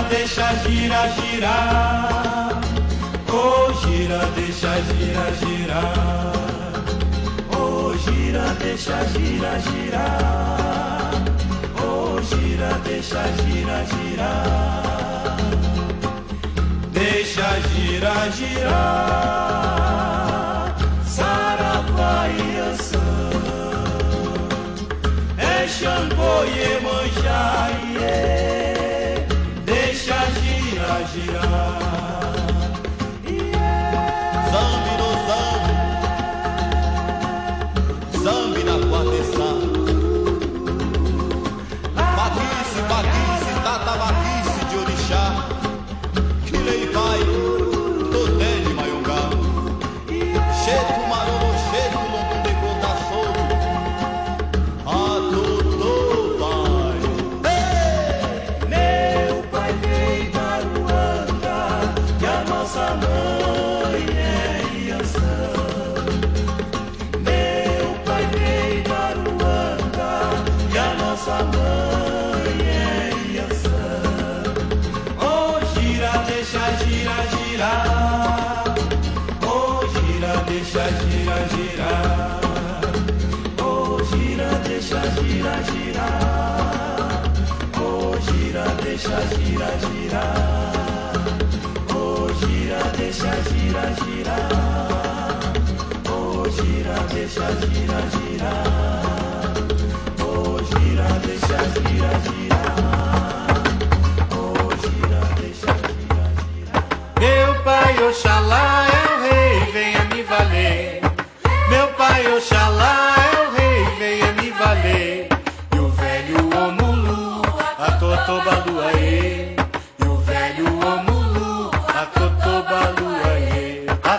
deixa gira, girar. Oh, gira, deixa gira, girar. Oh, gira, deixa gira, girar. Oh, gira, deixa gira, girar. Deixa gira, girar. Saravá e Iansã. É Xangô e Iemanjá, deixa gira, girar. Zambi no zambi, zambi na quadriça. Baquice, baquice, tata baquice de orixá. Que lei vai, toté de maiongá. Cheto marolo, cheto london de gota solto. A totô pai. Meu pai veio da Ruanda, que a nossa mãe é Iansã. Meu pai veio da Ruanda, que a nossa mãe é Iansã. Oh, gira, deixa gira, girar. Oh, gira, deixa gira, girar. Oh, gira, deixa gira, girar. Oh, gira, deixa gira, girar. Oh, gira, deixa gira, girar. Oh, gira, deixa gira, girar. Oh, gira, deixa gira, girar. Oh, gira, deixa gira, girar. Meu pai Oxalá é o rei, venha me valer. Meu pai Oxalá é o rei, venha me valer. E o velho Omulu, a Totobaluaê. E o velho Omulu, a Totobaluaê. A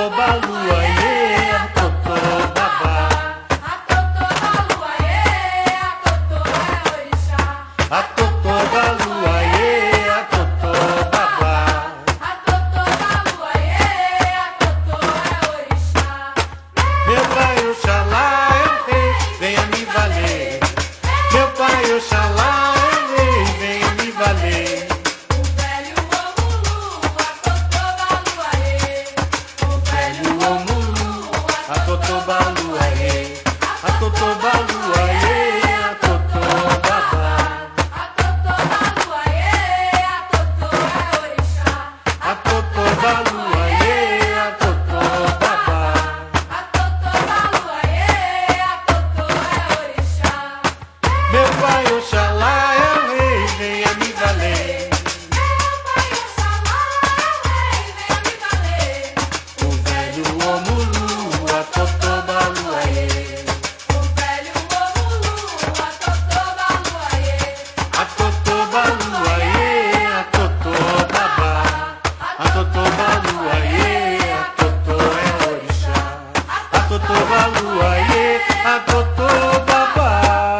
Totobaluaê, a Totobabá. A Totobaluaê, a Totô é orixá. A Totobaluaê, a Totobabá. A Totobaluaê, a Totô é orixá. Meu pai Oxalá é o rei, venha me valer. Meu pai Oxalá é o rei, venha me valer. O velho Omulu, a Totobaluaê. O velho Omulu, a Totobaluaê. A Totobaluaê, a Totobabá. A Totobaluaê, a Totô é orixá. A Totobaluaê, a Totobabá. A Totobaluaê, a Totô é orixá. Meu pai Oxalá é o rei, venha me valer. Meu pai Oxalá é o rei, venha me valer. O velho Omulu, a Totobaluaê. O velho Omulu, a Totobaluaê. A Totobaluaê, a Totobabá. A Totobaluaê, a Totô é orixá. A Totobaluaê, a Totobabá.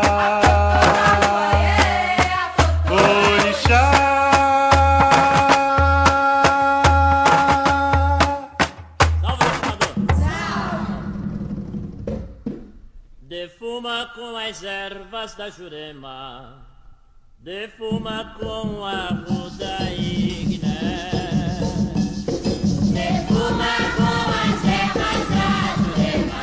Orixá. Defuma com as ervas da Jurema, defuma com a ruda igné. Defuma com as ervas da Jurema.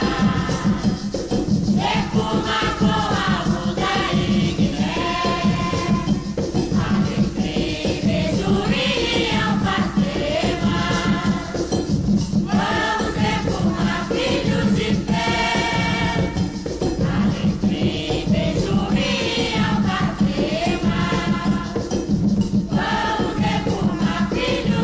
Defuma com a ruda igné. Alecrim, bejuí e alfazema. Vamos defumar, filhos de fé. Alecrim, bejuí e alfazema. Vamos defumar, filhos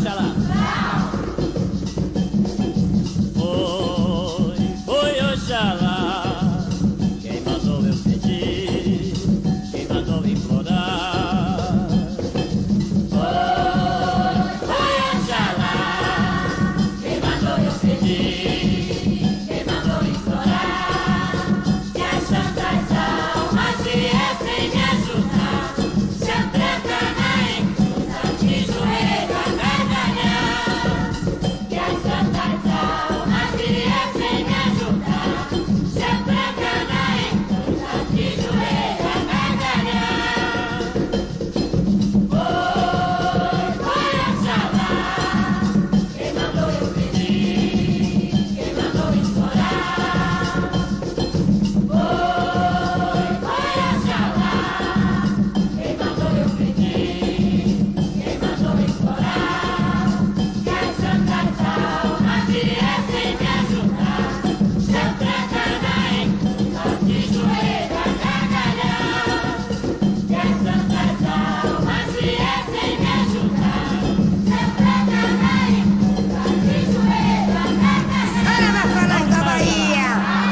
Oxalá. Foi Oxalá quem mandou eu pedir, quem mandou implorar. Foi Oxalá quem mandou eu pedir, quem mandou implorar. Que as santas almas viessem me ajudar. Se eu trancar na encruza de joelho a gargalhar. Que as santas almas viessem me ajudar. Se eu trancar na encruza de joelho a gargalhar. Foi Oxalá quem mandou eu pedir, quem mandou implorar. Foi Oxalá quem mandou eu pedir, quem mandou implorar. Que as santas almas viessem me ajudar. Se eu trancar na encruza de joelho a gargalhar. Que as santas almas viessem me ajudar. Se eu trancar na encruza de joelho a gargalhar. Ela vai falar da Bahia.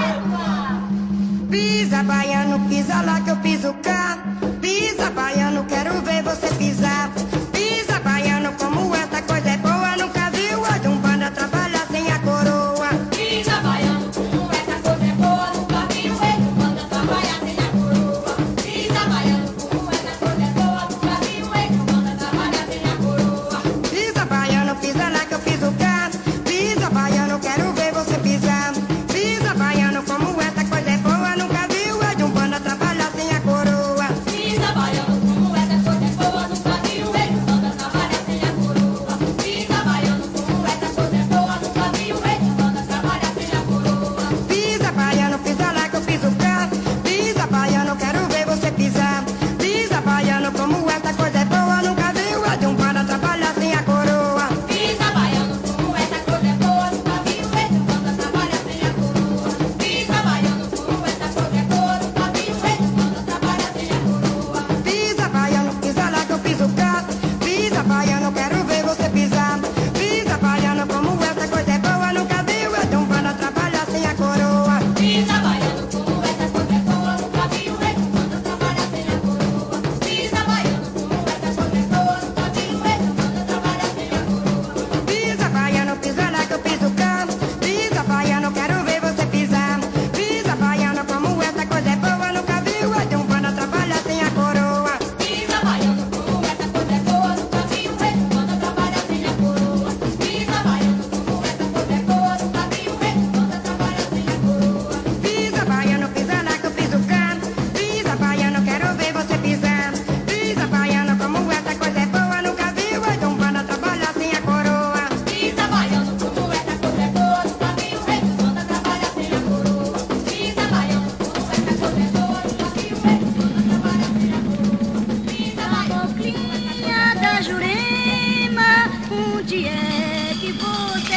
Pisa, baiano, pisa lá que eu piso cá. Pisa, baiano, quero ver você pisar. Pisa, baiano, como essa coisa é boa. Nunca viu a de um banda trabalhar sem a coroa. Pisa baiano, como essa coisa é boa. Nunca vi o rei do banda trabalhar sem a coroa. Pisa baiano, como essa coisa é boa. Nunca vi o rei do banda trabalhar sem a coroa. Pisa, baiano, pisa lá que eu piso cá. Pisa, baiano, quero ver você pisar. Pisa, baiano, como essa coisa é boa. Nunca viu a de um banda trabalhar sem a coroa. Pisa baiano, como essa coisa é boa. Nunca vi o rei do banda trabalhar sem a coroa. Pisa baiano, como essa coisa é boa. Nunca vi o rei do banda trabalhar sem a coroa. Pisa, baiano, pisa lá que eu piso cá. Pisa, baiano, quero ver você pisar. Pisa, baiano, como essa coisa é boa. Nunca viu a de um banda trabalhar sem a coroa. Pisa baiano, como essa coisa é boa. Nunca vi o rei do banda trabalhar sem a coroa. Pisa baiano, como essa coisa é boa. Nunca vi o rei do banda trabalhar sem a coroa. Pisa, baiano, pisa lá que eu piso cá. Pisa, baiano, quero ver você pisar. Pisa, baiano, como essa coisa é boa. Nunca viu a de um banda trabalhar sem a coroa. Pisa baiano, como essa coisa é boa. Nunca vi o rei do banda trabalhar sem a coroa. Pisa baiano, como essa coisa é boa. Nunca vi o rei do banda trabalhar sem a coroa. Pisa, baiano, pisa lá que eu piso cá. Pisa, baiano, quero ver você pisar. Pisa, baiano, como essa coisa é boa. Nunca viu a de um banda trabalhar sem a coroa. Pisa baiano, como essa coisa é boa. Nunca vi o rei do banda trabalhar sem a coroa. Pisa baiano, como essa coisa é boa. Nunca vi o rei do banda trabalhar sem a coroa. Pisa, baiano, pisa lá que eu piso cá. Pisa, baiano, quero ver você pisar. Pisa, baiano, como essa coisa é boa. Nunca viu a de um banda trabalhar sem a coroa. Pisa baiano, como essa coisa é boa. Nunca vi o rei do banda trabalhar sem a coroa. Pisa baiano, como essa coisa é boa. Nunca vi o rei do banda trabalhar sem a coroa. Pisa baiano, Caboclinha da Jurema, onde é que você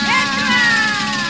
vai?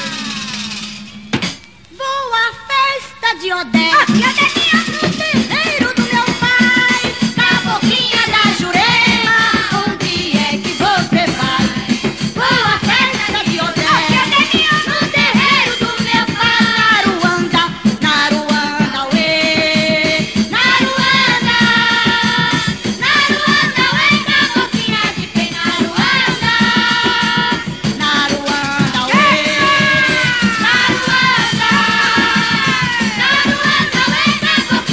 Vou à festa de Odete, no terreiro do meu pai. Caboclinha da Jurema, onde é que você vai? Vou à festa de Odete, no terreiro do meu pai. Naruanda, Naruanda, uê, Naruanda, Naruanda, uê, caboclinha de pé, Naruanda, Naruanda, uê, Naruanda, Naruanda, uê, caboclinha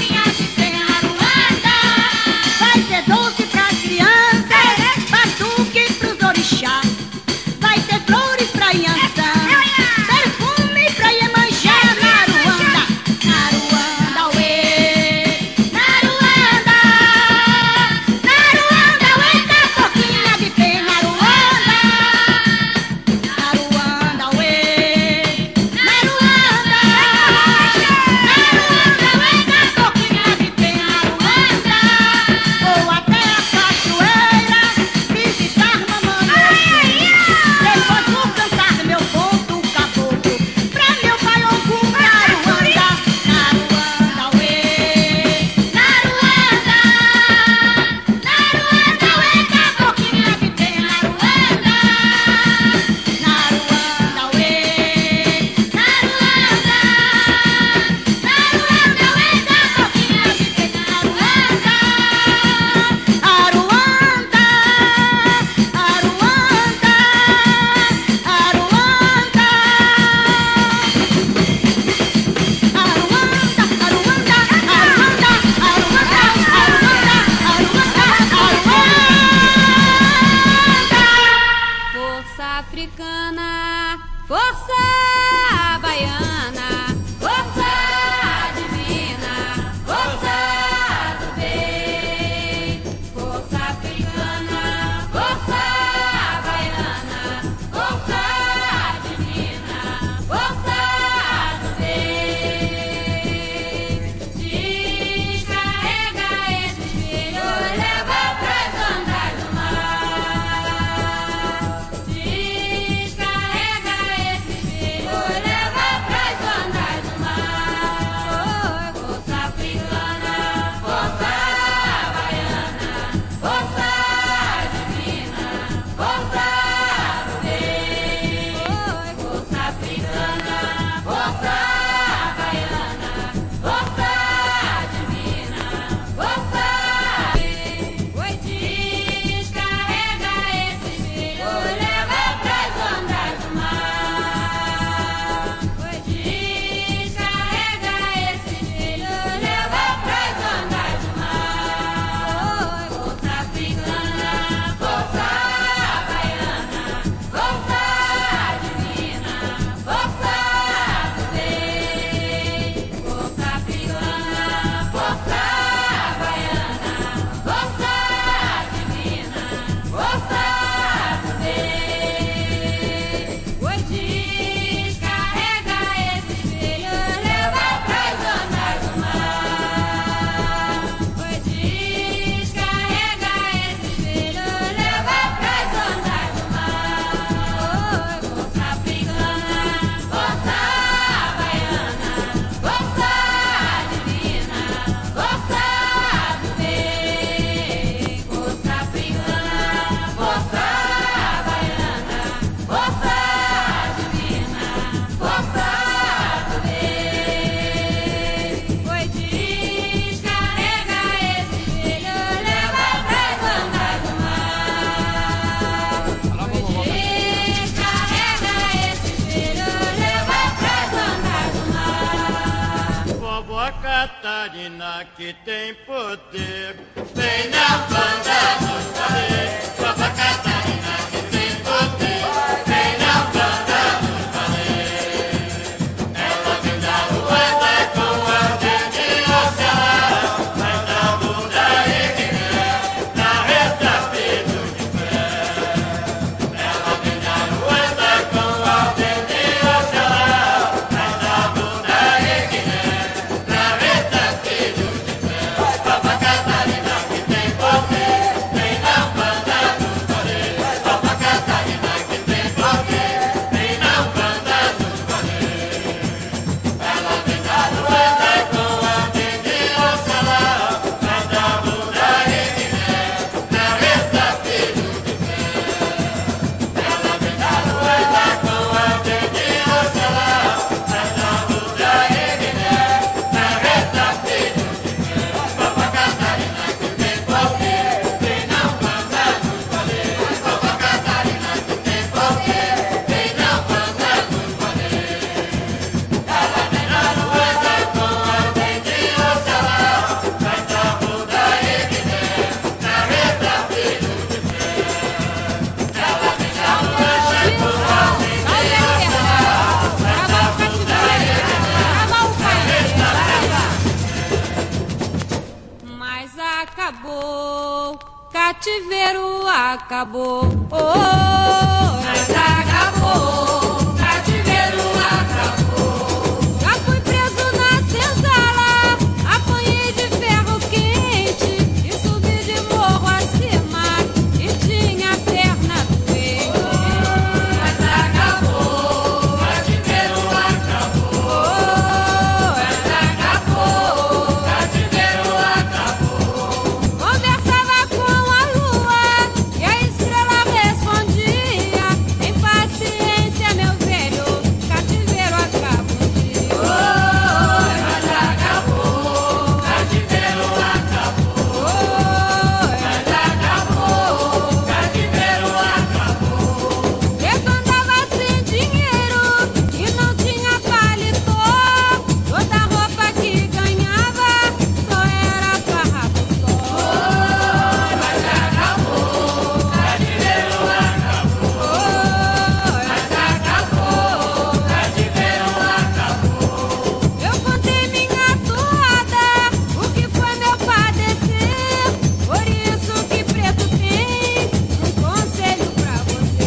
Vovó Catarina que tem poder. Vem na banda dos balés. Vovó Catarina que tem poder. Vem na banda dos balés. Ela vem da rueda com a dedinha ocelar. Mas na bunda erguer, na reta peito de pé. Ela vem da rueda com a dedinha ocelar. Mas na bunda erguer, na reta peito de pé. Vovó Catarina que tem poder. Vem na banda dos balés. Vovó Catarina que tem poder. Vem na banda dos balés. Ela vem da rueda com a dedinha ocelar. Mas na bunda erguer, na reta peito de pé. Ela vem da rueda com a dedinha ocelar. Mas na bunda erguer, na reta peito de pé. Vovó Catarina que tem poder. Vem na banda dos balés. Vovó Catarina que tem poder. Vem na banda dos balés. Ela vem da rueda com a dedinha ocelar. Mas na bunda erguer, na reta peito de pé. Ela vem da rueda com a dedinha Mas acabou, cativeiro acabou. Oh, mas acabou, cativeiro acabou. Já fui preso na senzala, apanhei de ferro quente e subi de morro acima e tinha a perna doente. Mas acabou, cativeiro acabou. Mas acabou, cativeiro acabou. Conversava com a lua e a estrela respondia: em paciência, meu velho, cativeiro acaba um dia. Mas acabou, cativeiro acabou. Mas acabou, cativeiro acabou. Eu andava sem dinheiro e não tinha paletó. Toda roupa que ganhava só era farrapo só. Mas acabou, cativeiro acabou. Mas acabou, cativeiro acabou. Eu contei minha toada, o que foi meu padecer. Por isso que preto tem um conselho pra você.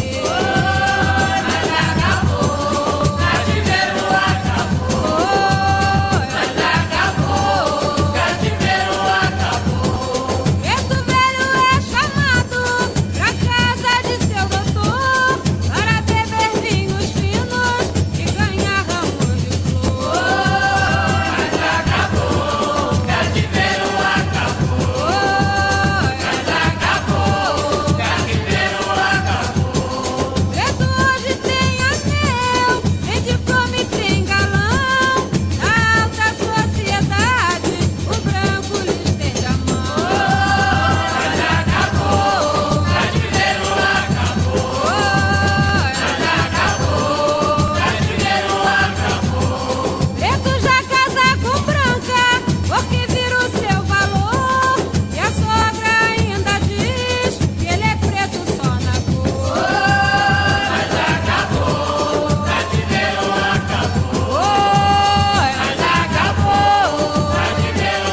Mas acabou, cativeiro acabou. Mas acabou, cativeiro acabou. Preto velho é chamado pra casa de seu doutor para beber vinhos finos e ganhar ramos de flor. Mas acabou, cativeiro acabou. Mas acabou, cativeiro acabou. Preto hoje tem anel, tem diploma e tem galão. Na alta sociedade, o branco lhe estende a mão. Mas acabou, cativeiro acabou. Mas acabou, cativeiro acabou. Preto já casa com branca, porque vira o seu valor. E a sogra ainda diz que ele é preto só na cor. Mas acabou, cativeiro acabou. Mas acabou, cativeiro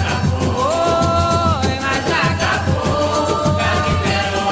acabou. Mas acabou, cativeiro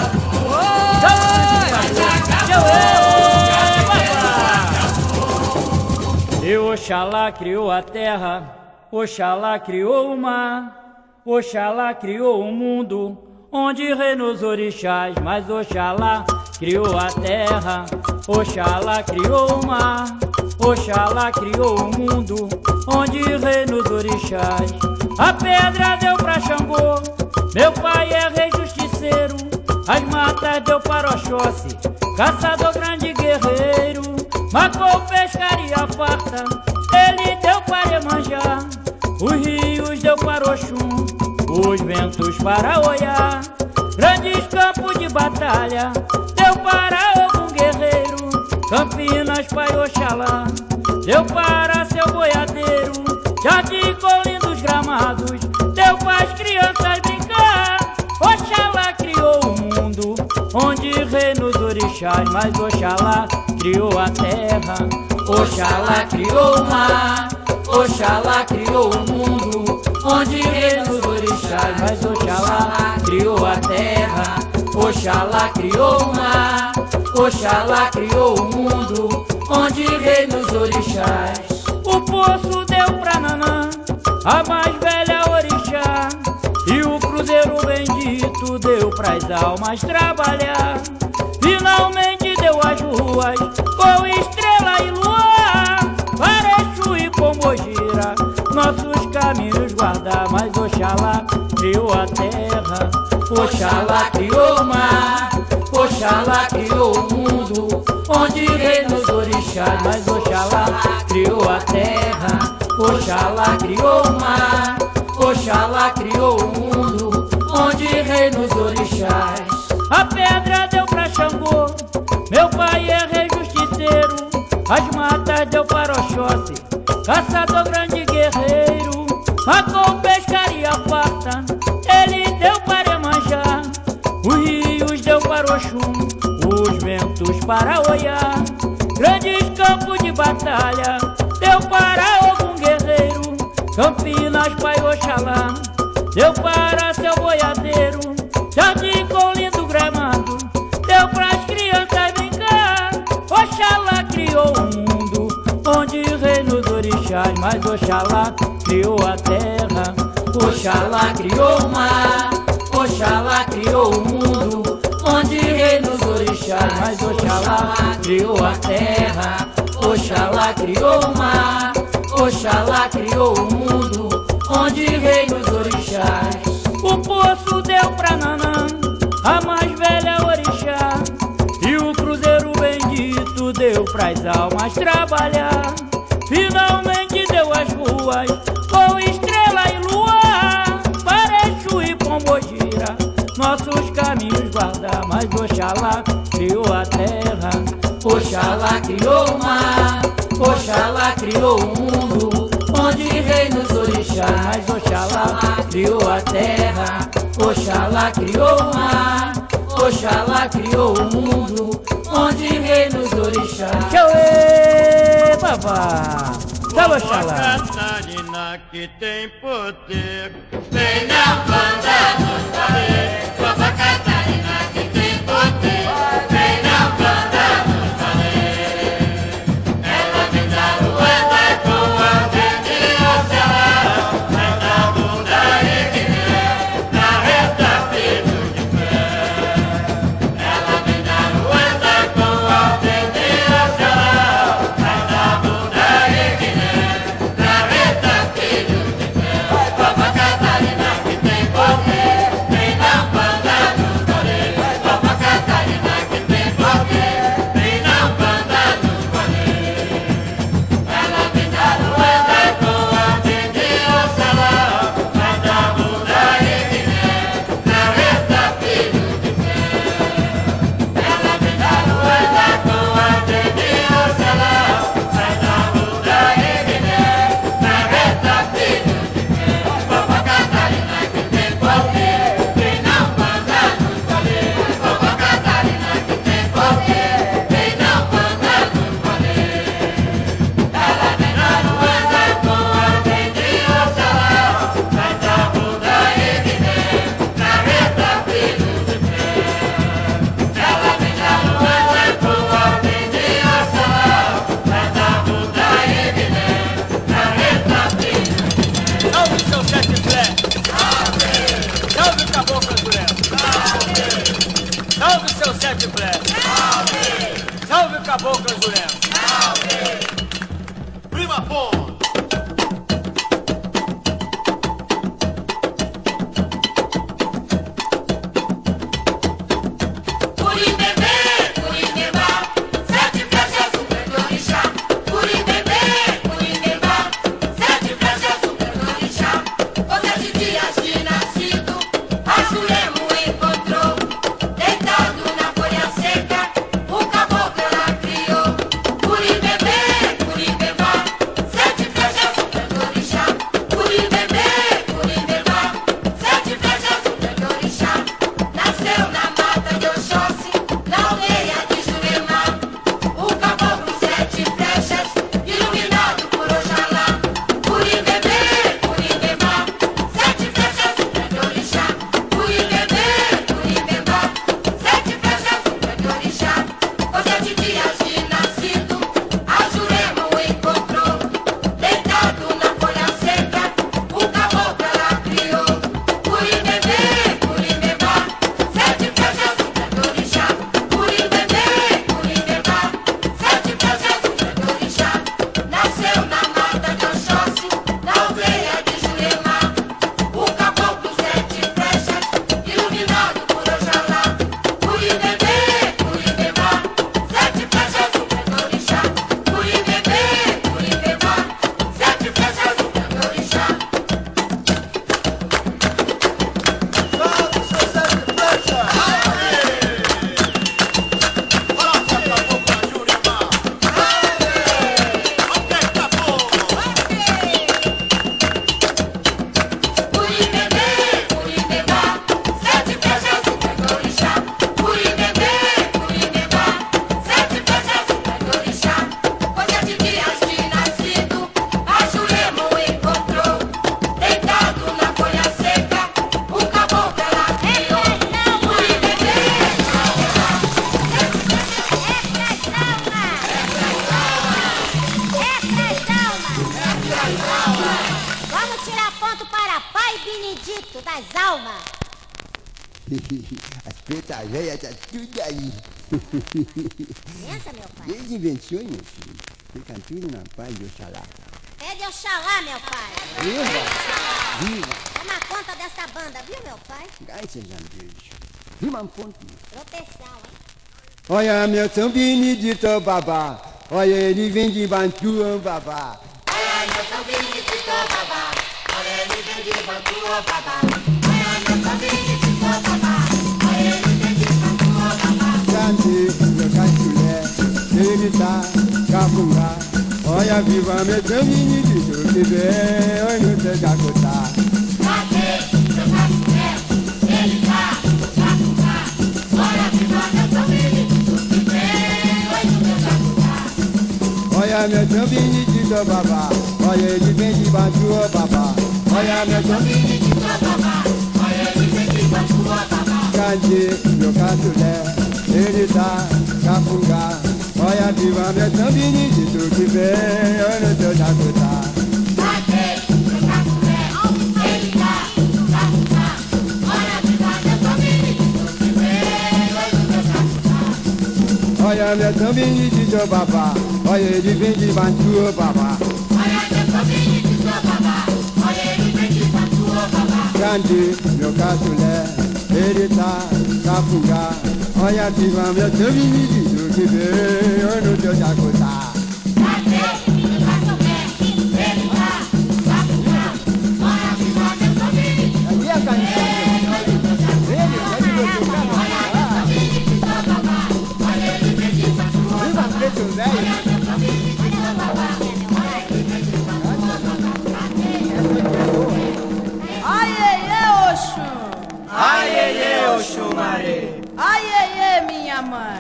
acabou. E Oxalá criou a terra, Oxalá criou o mar, Oxalá criou o mundo, onde reinou os orixás. Mas Oxalá criou a terra, Oxalá criou o mar, Oxalá criou o mundo, onde reinou os orixás. A pedra deu pra Xangô, meu pai é rei justiceiro. As matas deu para Oxóssi, caçador grande guerreiro. Matou pescaria farta, ele deu para Iemanjá. Os rios deu para Oxum, os ventos para Oiá. Grandes campos de batalha deu para algum guerreiro. Campinas para Oxalá deu para seu boiadeiro. jardim com lindos gramados, deu pras crianças brincar. Oxalá criou o mundo, onde reinam os orixás, mas Oxalá criou a terra. Oxalá criou o mar, Oxalá criou o mundo, onde reinam os orixás, mas Oxalá criou a terra. Oxalá criou o mar, Oxalá criou o mundo, onde reinam os orixás. O poço deu pra Nanã, a mais velha orixá, e o cruzeiro bendito deu pras almas trabalhar. Finalmente deu as ruas com estrela e luar, para Exu e Pombogira nossos caminhos guardar. Mas Oxalá criou a terra, Oxalá criou o mar, Oxalá criou o mundo, onde reinam os orixás. Mas Oxalá criou a terra, Oxalá criou o mar, Oxalá criou o mundo, onde reinam os orixás. A pedra deu pra Xangô, meu pai é rei justiceiro. As matas deu para Oxóssi, caçador grande guerreiro. Marcou pescaria farta, ele deu para Iemanjá. Os rios deu para Oxum, os ventos para Oiá. Grandes campos de batalha deu para algum guerreiro. Campinas, pai Oxalá, deu para seu boiadeiro. Jardim com lindo gramado, deu pras crianças brincar. Oxalá criou o mundo, onde reinam os orixás, mas Oxalá criou a terra. Oxalá criou o mar, Oxalá criou o mundo, onde reinam os orixás, mas Oxalá criou a terra. Oxalá criou o mar, Oxalá criou o mundo, onde reinam os orixás. O poço deu pra Nanã, a mais velha orixá, e o cruzeiro bendito deu pras almas trabalhar. Finalmente deu as ruas com estrela e luar, para Exu e Pombogira nossos caminhos guardar. Mas Oxalá criou a terra, Oxalá criou o mar, Oxalá criou o mundo, onde reinam os orixás. Mas Oxalá criou a terra, Oxalá criou o mar, Oxalá criou o mundo, onde reinam os orixás. Tchauê, babá! Tá, Oxalá! Catarina que tem poder, vem na banda dos balés. Vovó Catarina que tem poder, vem na banda dos balés. Ela vem da Ruanda com a verde Oxalá, vai da bunda e guiné, na reta filho de pé. Ela vem da Ruanda com a verde Oxalá, vai da bunda e guiné, na reta filho de pé. Vovó Catarina que tem poder, vem na banda. Pai Benedito das almas. As pretas velhas tá tudo aí. Pensa, meu pai. Desde invenções, meu filho. Fica tudo na paz de Oxalá. É de Oxalá, meu pai. Viva! Viva! Toma conta dessa banda, viu, meu pai? Graças a Deus. Viva um ponto. Proteção, hein? Olha meu São Benedito, babá. Olha ele vem de Bantu, babá. Olha meu São Benedito, babá. Olha ele vem de Bantu, babá. Olha meu São Benedito, babá. Olha ele vem de Bantu, babá. Cante, meu caçulé, ele tá capunga. Olha viva meu São Benedito, que vem, olha no teu jacotá. Cadê meu caçulé? Ele tá capunga. Olha viva meu São Benedito, que vem, olha no teu jacotá. Olha meu São Benedito, babá. Olha ele vem de Bantu, babá. Olha meu São Benedito, babá. Olha ele vem de Bantu, babá. Cante, meu caçulé, ele tá capunga. Olha viva meu São Benedito, que vem, olha no teu jacotá. Cadê meu caçulé? Ele tá capunga. Olha viva meu São Benedito, que vem, olha no teu jacotá. Olha meu São Benedito, babá. Olha ele vem de Bantu, babá. Olha meu São Benedito, babá. Olha ele vem de Bantu, babá. Grande, meu caçulé, ele tá capunga. Olha viva meu São Benedito, que vem, olha no teu jacotá. Cadê meu caçulé? Ele tá capunga. Olha viva meu São Benedito. Aqui é a canção. Ele vai de você, Olha meu São Benedito, babá. Olha ele vem de Bantu, babá. viva preto velho. Meu São Benedito, babá. Olha ele vem de Bantu, babá. Aiê, Oxum! Aiê, Oxumaré. Aiê, minha mãe!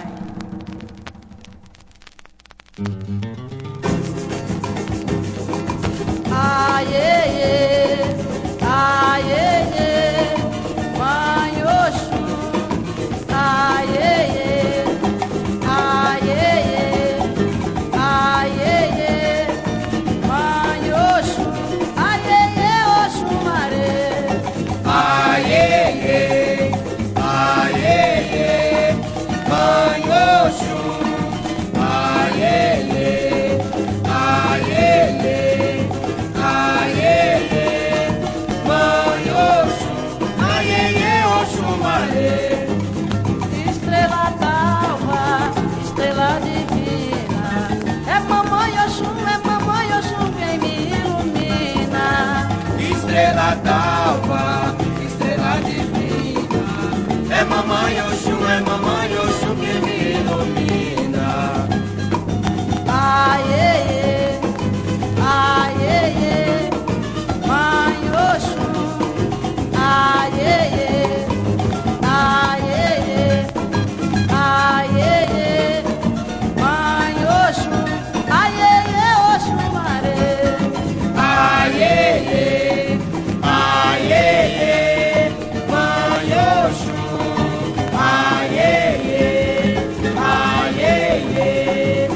Aiê, aiê, mãe Oxum! Aiê, aiê, aiê, mãe Oxum! Aiê, Oxumaré! Aiê, aiê, mãe Oxum. Aiê, aiê, aiê, mãe Oxum. Aiê, Oxumaré. Estrela d'alva, estrela divina, é mamãe Oxum quem me ilumina. Estrela d'alva, estrela divina, é mamãe Oxum que me ilumina. Aiê, aiê, mãe Oxum. Aiê, aiê, aiê, mãe Oxum. Aiê, Oxumaré. Aiê, aiê, mãe Oxum. Aiê, aiê,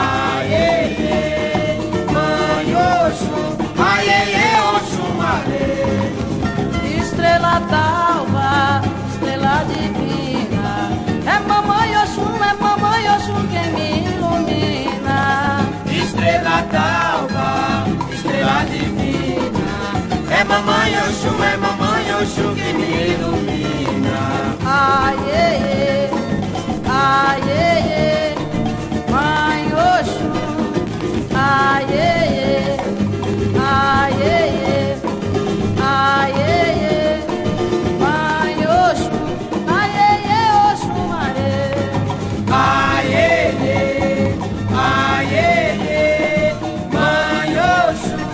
aiê, mãe Oxum. Aiê, Oxumaré. Estrela d'alva, estrela divina, é mamãe Oxum quem me ilumina. Estrela d'alva, estrela divina, é mamãe Oxum que me ilumina. Aiê, aiê, mãe Oxum. Aiê, aiê, aiê, mãe Oxum. Aiê, Oxumaré. Aiê, aiê, mãe Oxum.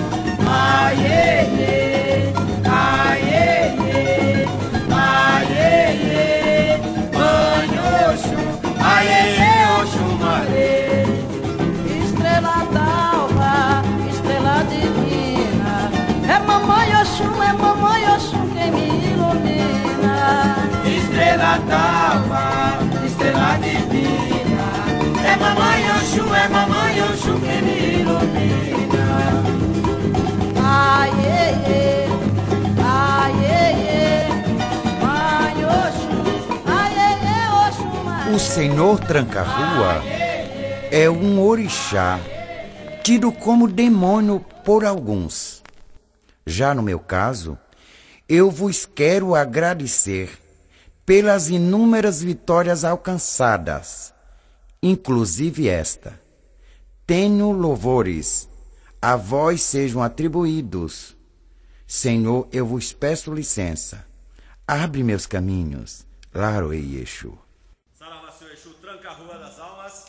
Aiê, aiê, aiê, mãe Oxum. Aiê, Oxumaré. Estrela d'alva, estrela divina, é mamãe Oxum quem me ilumina. Estrela d'alva, estrela divina, é mamãe Oxum que me ilumina. Aiê, Senhor Tranca-Rua é um orixá tido como demônio por alguns. Já no meu caso, eu vos quero agradecer pelas inúmeras vitórias alcançadas, inclusive esta. Tenho louvores, a vós sejam atribuídos. Senhor, eu vos peço licença. Abre meus caminhos, Laroei Exu. Saravá, seu Exu, tranca a rua das almas.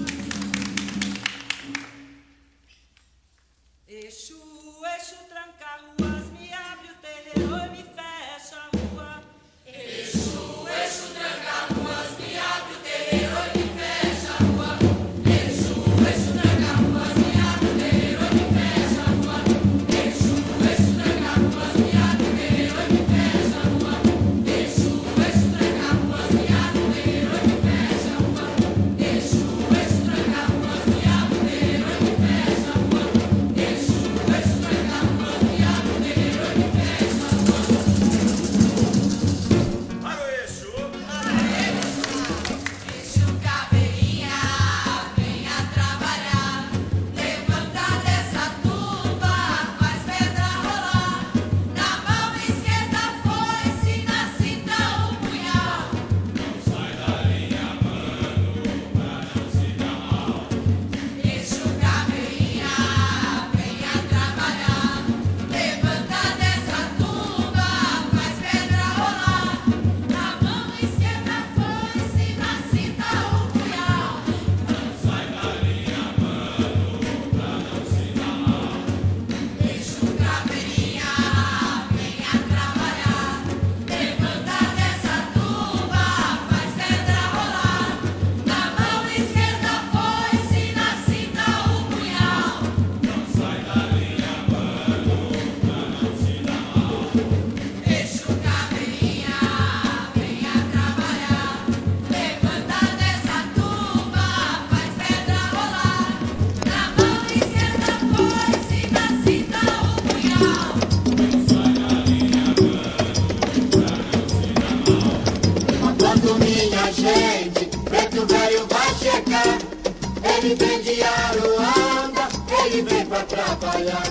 Exu, Exu, tranca ruas, me abre o terreiro e me fecha a rua. Exu, Exu, tranca ruas, me abre o terreiro e me fecha a rua. Exu, Exu, tranca ruas, me abre o terreiro e me fecha a rua. Exu, Exu, tranca ruas, me abre o terreiro e me fecha a rua. Exu, Exu, tranca ruas, me abre o terreiro e me fecha a rua. Exu, Exu, tranca ruas, me abre o terreiro e me fecha a rua. Exu, Exu, tranca ruas, me abre o terreiro e me fecha a rua. Para o Exu. Exu Caveirinha, venha trabalhar. Levanta dessa tumba, faz pedra rolar. Na mão esquerda foice, na cinta um punhal. Não sai da linha, mano, pra não se dar mal. Exu Caveirinha, venha trabalhar. Levanta dessa tumba, faz pedra rolar. Na mão esquerda foice, na cinta um punhal. Não sai da linha, mano, pra não se dar mal. Exu Caveirinha, venha trabalhar. Levanta dessa tumba, faz pedra rolar. Na mão esquerda foice, na cinta um punhal. Não sai da linha, mano, pra não se dar mal. Exu Caveirinha, venha trabalhar. Levanta dessa tumba, faz pedra rolar. Na mão esquerda foice, na cinta um punhal. Não sai da linha, mano, pra não se dar mal. Quando minha gente, preto velho vai chegar. Ele vem de Aruanda, ele vem pra trabalhar.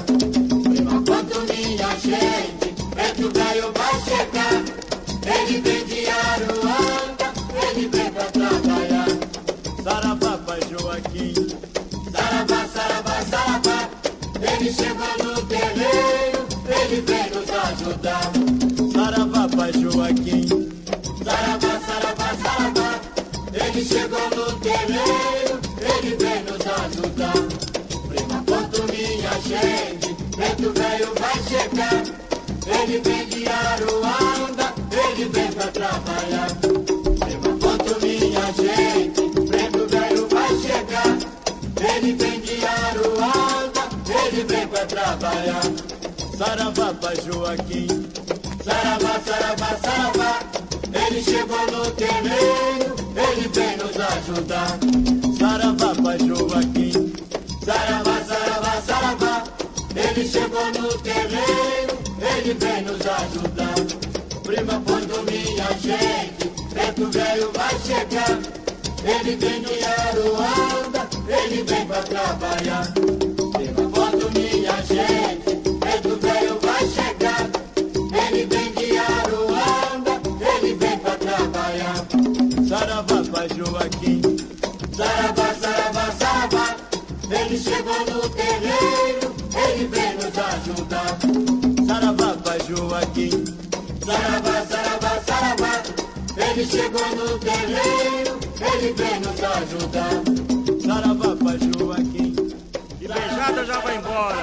Quando minha gente, preto velho vai chegar. Ele vem de Aruanda, ele vem pra trabalhar. Saravá, pai Joaquim. Saravá, saravá, saravá. Ele chegou no terreiro, ele vem nos ajudar. Saravá, pai Joaquim. Saravá, saravá, saravá. Ele chegou no terreiro, ele vem nos ajudar. Prima, quanto minha gente, preto velho vai chegar. Ele vem de Aruanda, ele vem pra trabalhar. Prima, quanto minha gente, preto velho vai chegar. Ele vem de Aruanda, ele vem pra trabalhar. Saravá, pai Joaquim. Saravá, saravá, saravá. Ele chegou no terreiro, ele vem nos ajudar. Saravá, pai Joaquim. Saravá, saravá, saravá. Ele chegou no terreiro, ele vem nos ajudar. Prima, quando minha gente, preto velho vai chegar. Ele vem de Aruanda, ele vem pra trabalhar. Prima, quando minha gente, preto velho vai chegar. Ele vem de Aruanda, ele vem pra trabalhar. Saravá, pai Joaquim. Saravá, saravá, saravá. Ele chegou no terreiro, ele vem nos ajudar. Saravá, pai Joaquim. Saravá, saravá, saravá. Ele chegou no terreiro, ele vem nos ajudar. Saravá, pai Joaquim. E beijada já vai embora.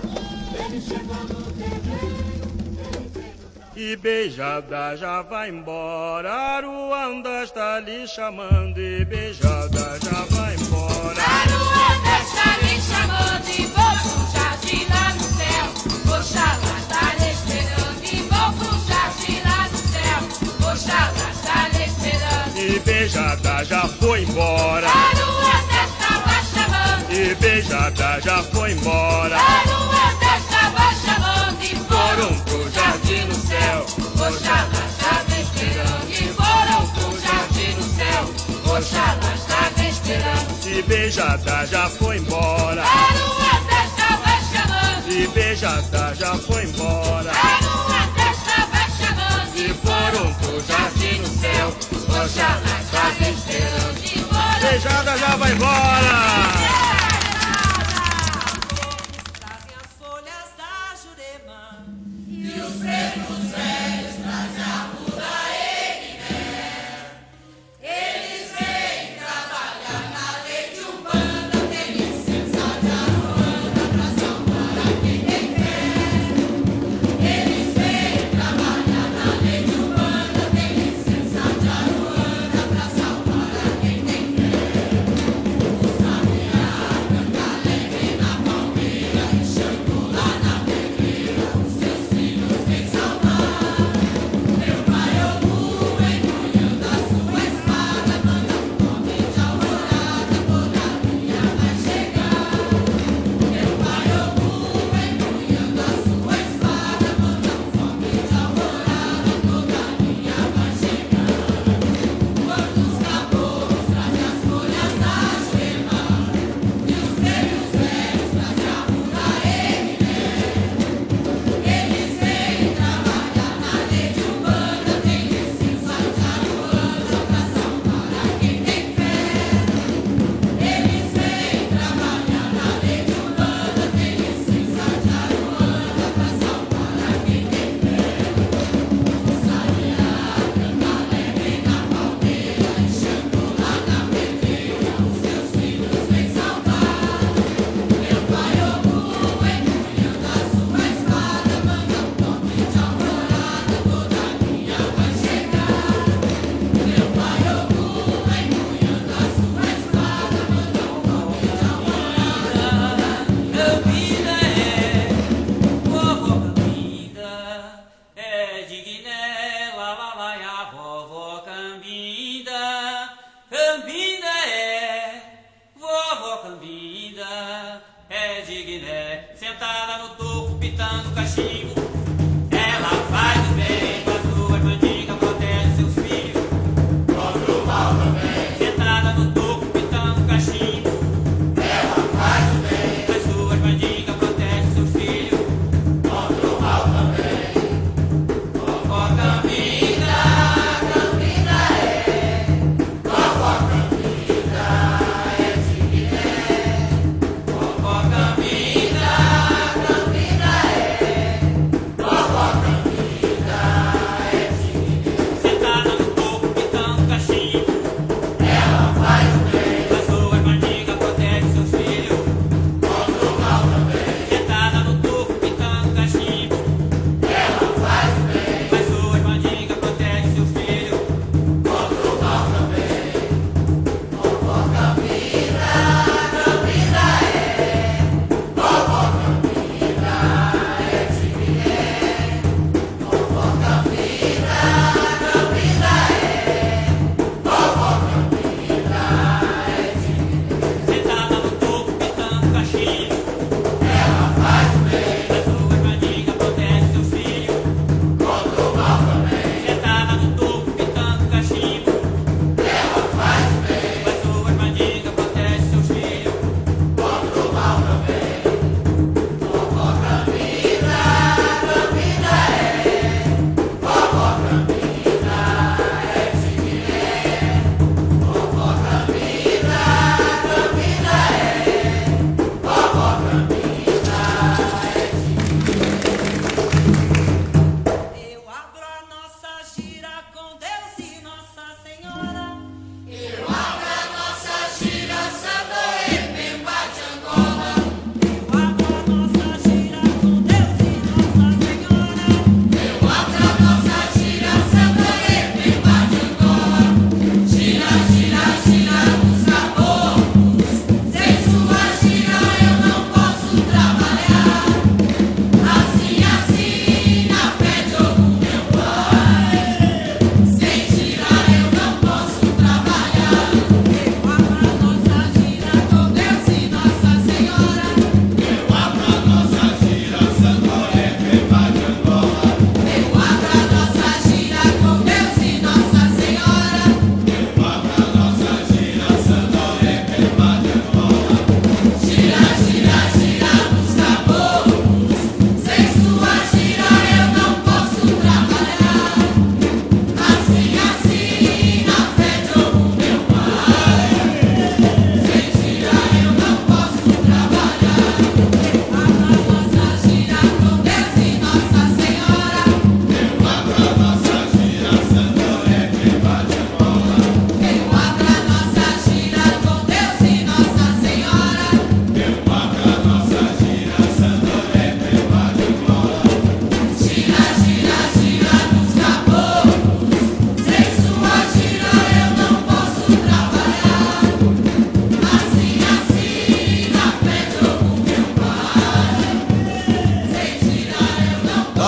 Ele chegou no terreiro. E beijada já vai embora. Aruanda está lhe chamando. E beijada já vai embora. Aruanda está lhe chamando e vou pro jardim lá no céu. Oxalá está lhe esperando e vou pro jardim lá no céu. Oxalá está lhe esperando. E beijada já foi embora. Aruanda estava chamando. E beijada já foi embora. Aruanda estava chamando e Foram pro jardim no céu. Oxalá estava esperando e foram pro jardim no céu. Oxalá beijada já foi embora. A lua festa vai chamando. E beijada já foi embora. A lua festa vai chamando. E foram pro jardim no céu, Oxalá está esperando de embora. beijada já vai embora. Trazem as folhas da Jurema. E os pretos velhos trazem a muda Eles vêm trabalhar na lei de Umbanda. Tem licença de Aruanda pra salvar quem tem fé. Eles vêm trabalhar na lei de Umbanda. Tem licença de Aruanda pra salvar quem tem fé. O sabiá canta alegre na palmeira e Xangô lá na pedreira. Os seus filhos vêm salvar.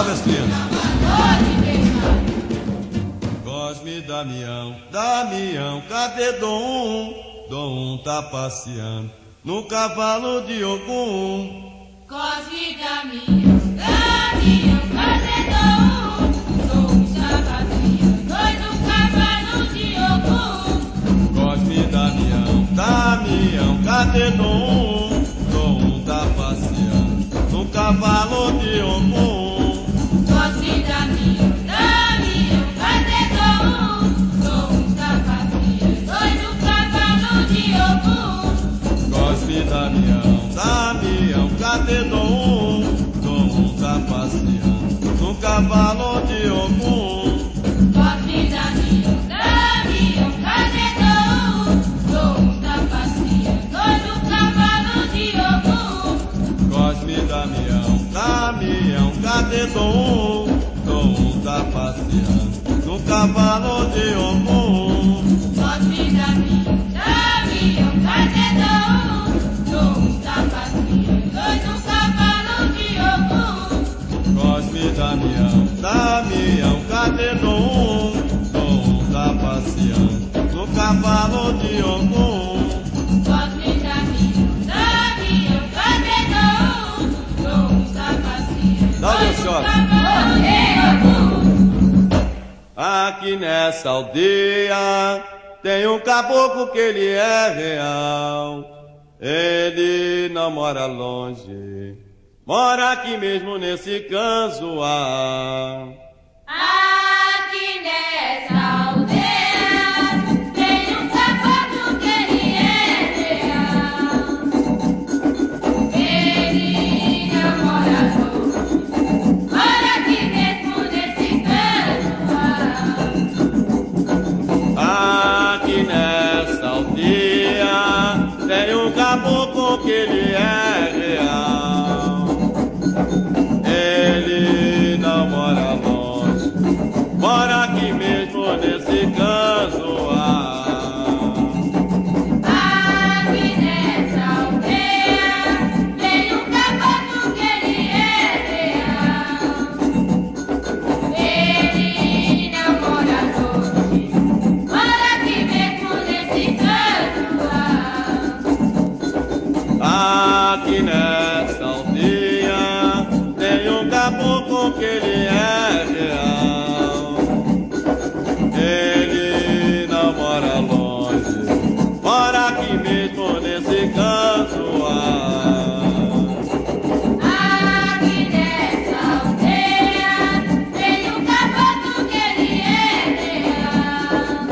Salve as crianças. Cosme, Damião, Damião, cadê Dom? Dom tá passeando no cavalo de Ogum. Cosme, Damião, Damião, cadê Dom? Dom está passeando no cavalo de Ogum. Cosme, Damião, Damião, cadê Dom? Dom tá passeando no cavalo de Ogum. Cosme, Damião, Damião, cadê Dom? Dom está passeando no cavalo de Ogum. Cosme, Damião, Damião, cadê Dom? Dom tá passeando no cavalo de Ogum. Cosme, Damião, Damião, cadê Dom? Dom está passeando no cavalo de Ogum. Cosme, Damião, Damião, cadê Dom? Dom tá passeando no cavalo de Ogum. Cosme, Damião, Damião, cadê Dom? Dom está passeando no cavalo de Ogum. Cosme, Damião, Damião, cadê Dom? Dom tá passeando no cavalo de Ogum. Cosme, Damião, Damião, cadê Dom? Dom está passeando Dá o meu no shot. cavalo de Ogum. Aqui nessa aldeia tem um caboclo que ele é real. Ele não mora longe, mora aqui mesmo nesse canzoar. Aqui nessa aldeia tem um caboclo que ele é real. Ele não mora longe, mora aqui mesmo nesse canto. Aqui nessa aldeia tem um caboclo que ele é real. Ele não mora longe, mora aqui mesmo nesse canzoar. Aqui nessa aldeia tem um caboclo que ele é real. Ele não mora longe, mora aqui mesmo nesse canto. Aqui nessa aldeia tem um caboclo que ele é real. Ele não mora longe, mora aqui mesmo nesse canzoar. Aqui nessa aldeia tem um caboclo que ele é real.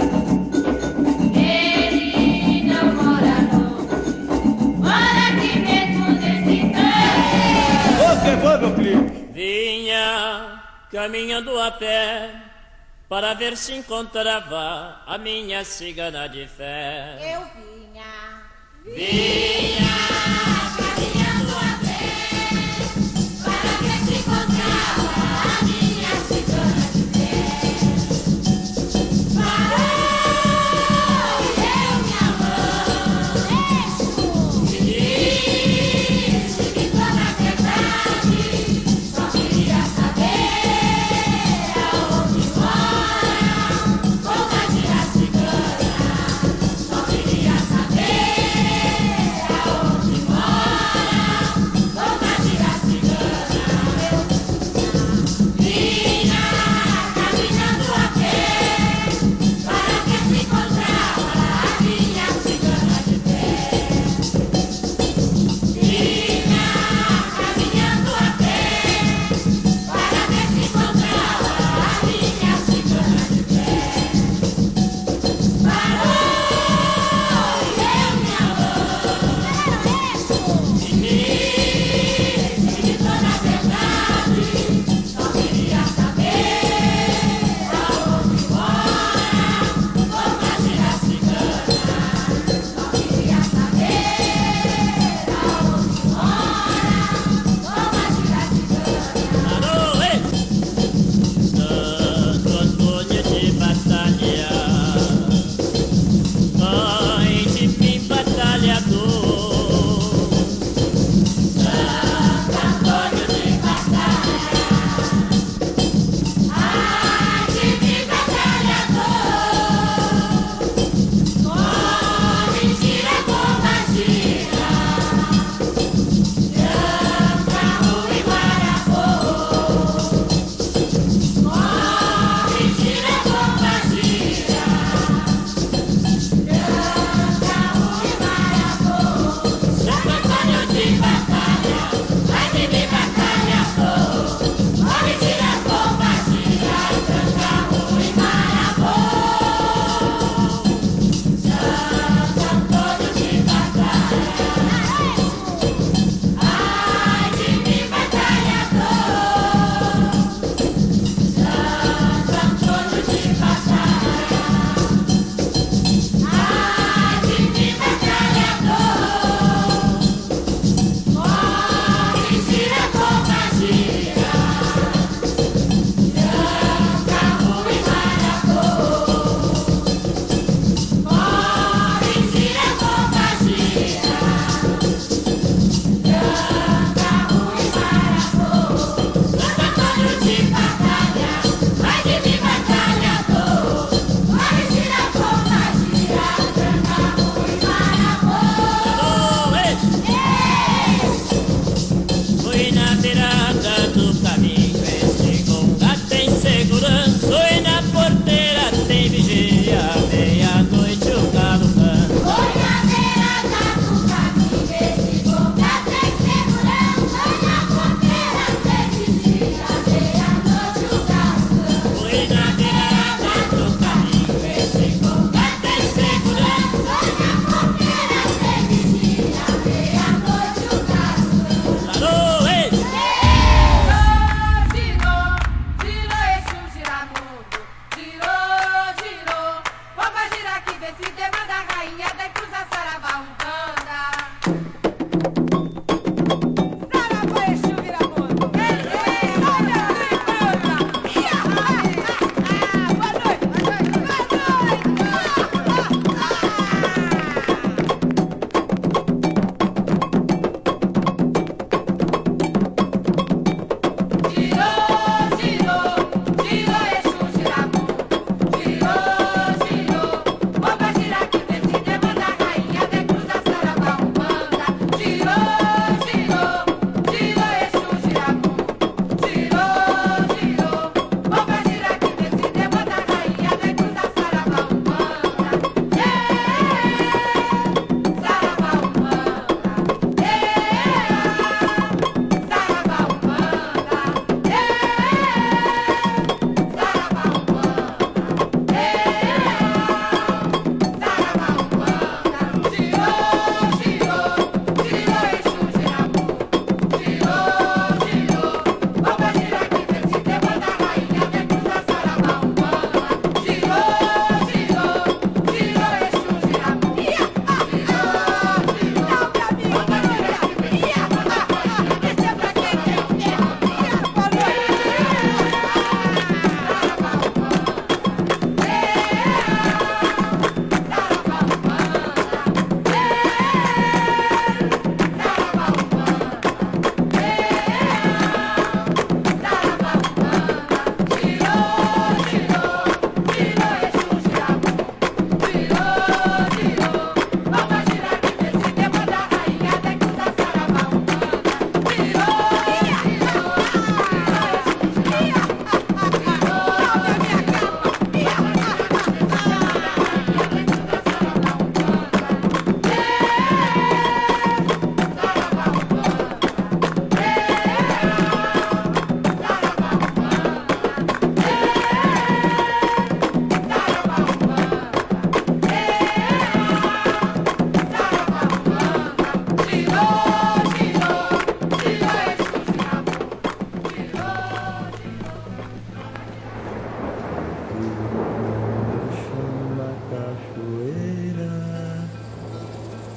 Ele não mora longe, mora aqui mesmo nesse canto. O que foi, meu filho? Vinha caminhando a pé para ver se encontrava a minha cigana de fé. Eu vinha. Vinha Caminhando a pé para ver se encontrava a minha cigana de pé. Parou e deu minha mão. Me disse que toda a verdade só queria saber aonde mora comadre a cigana. Só queria saber aonde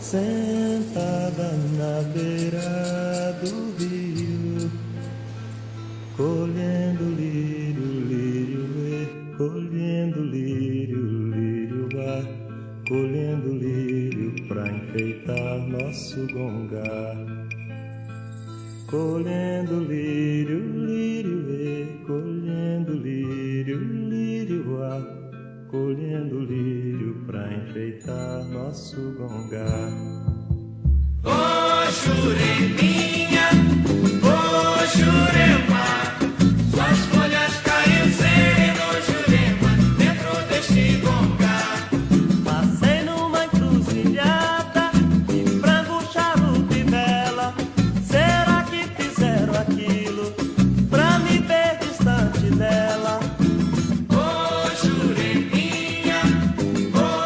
sentada na beira do rio, colhendo lírio, lírio, colhendo lírio, lírio, colhendo lírio pra enfeitar nosso gongar. Colhendo lírio, lírio, colhendo lírio, lírio, colhendo lírio pra enfeitar nosso gongar. Ô Jureminha, ô Jurema, suas folhas caem sereno, Jurema, dentro deste gongar. Passei numa encruzilhada de frango, charuto e vela. Será que fizeram aquilo pra me ver distante dela?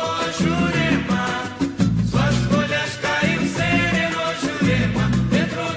Suas folhas caem sereno, Jurema, dentro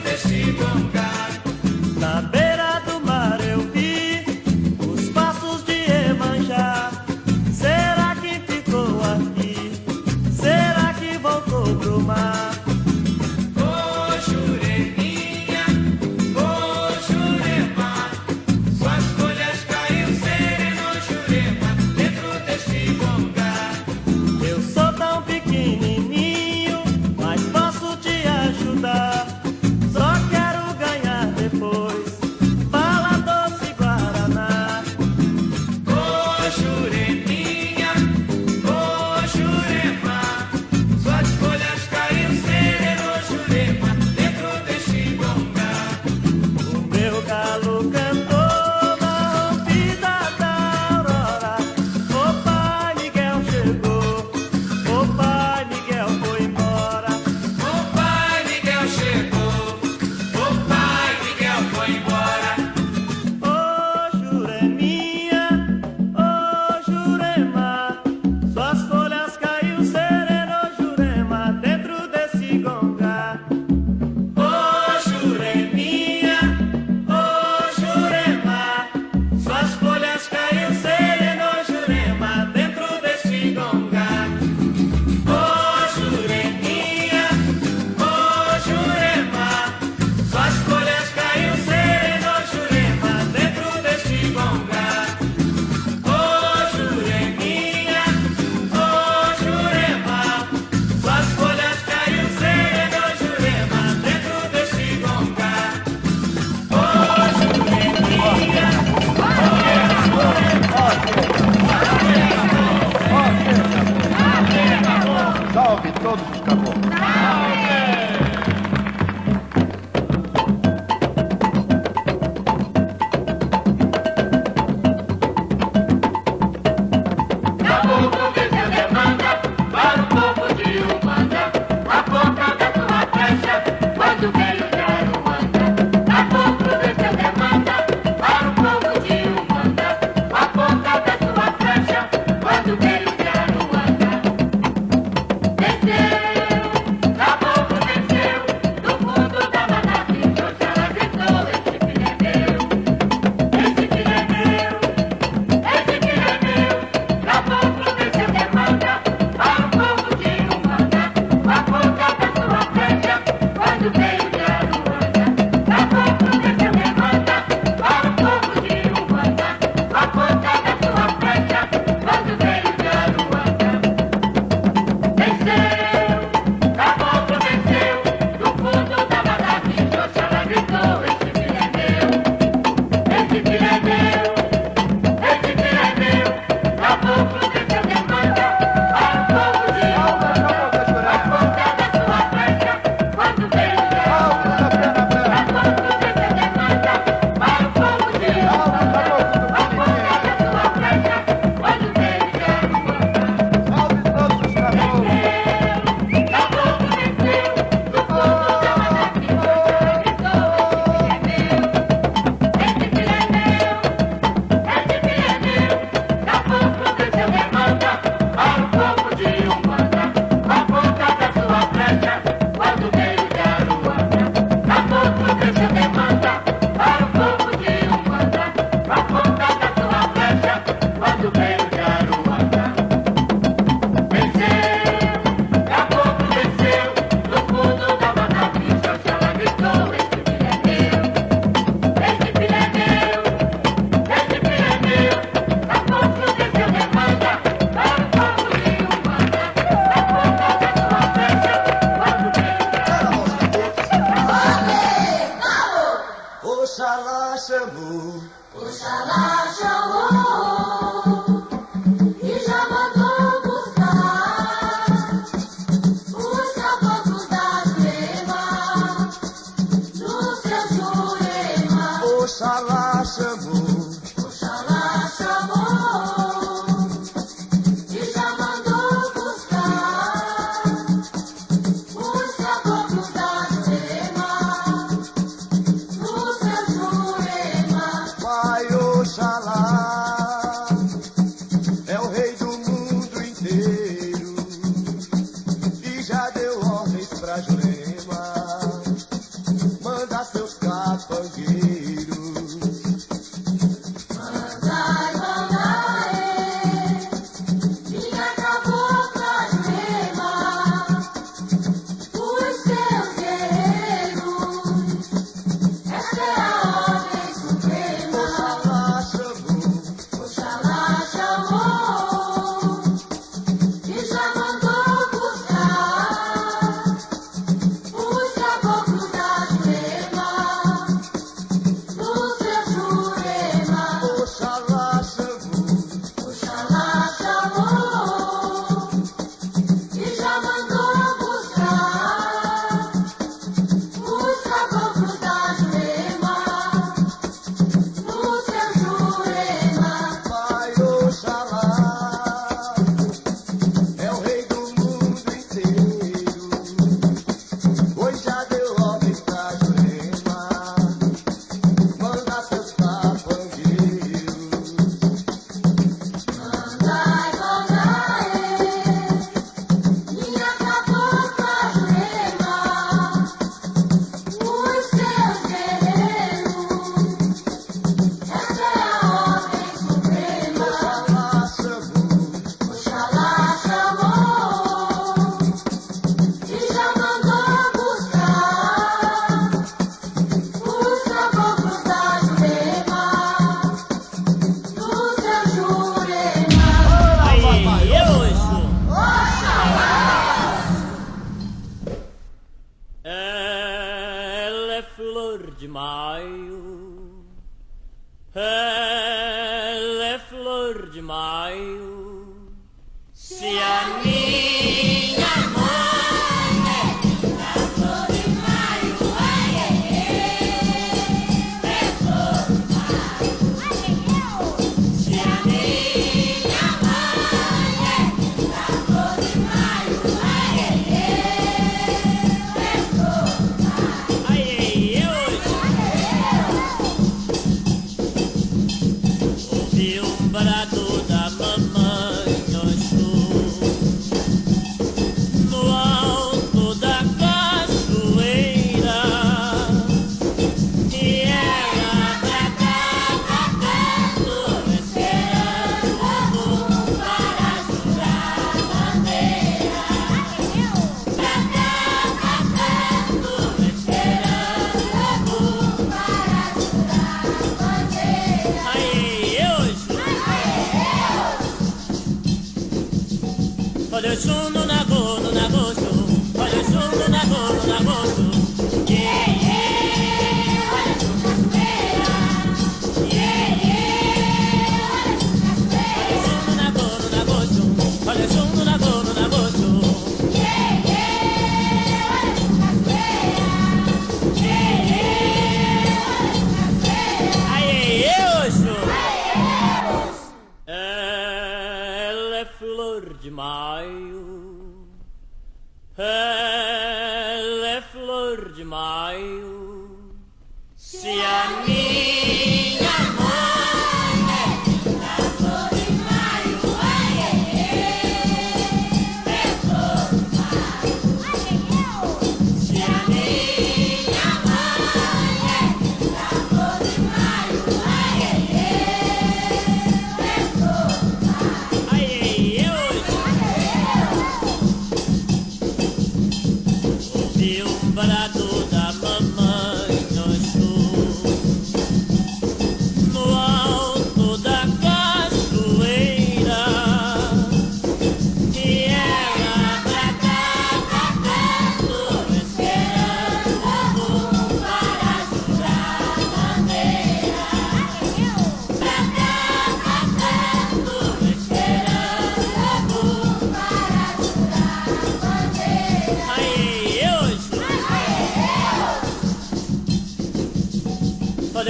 Barato da mamãe, nós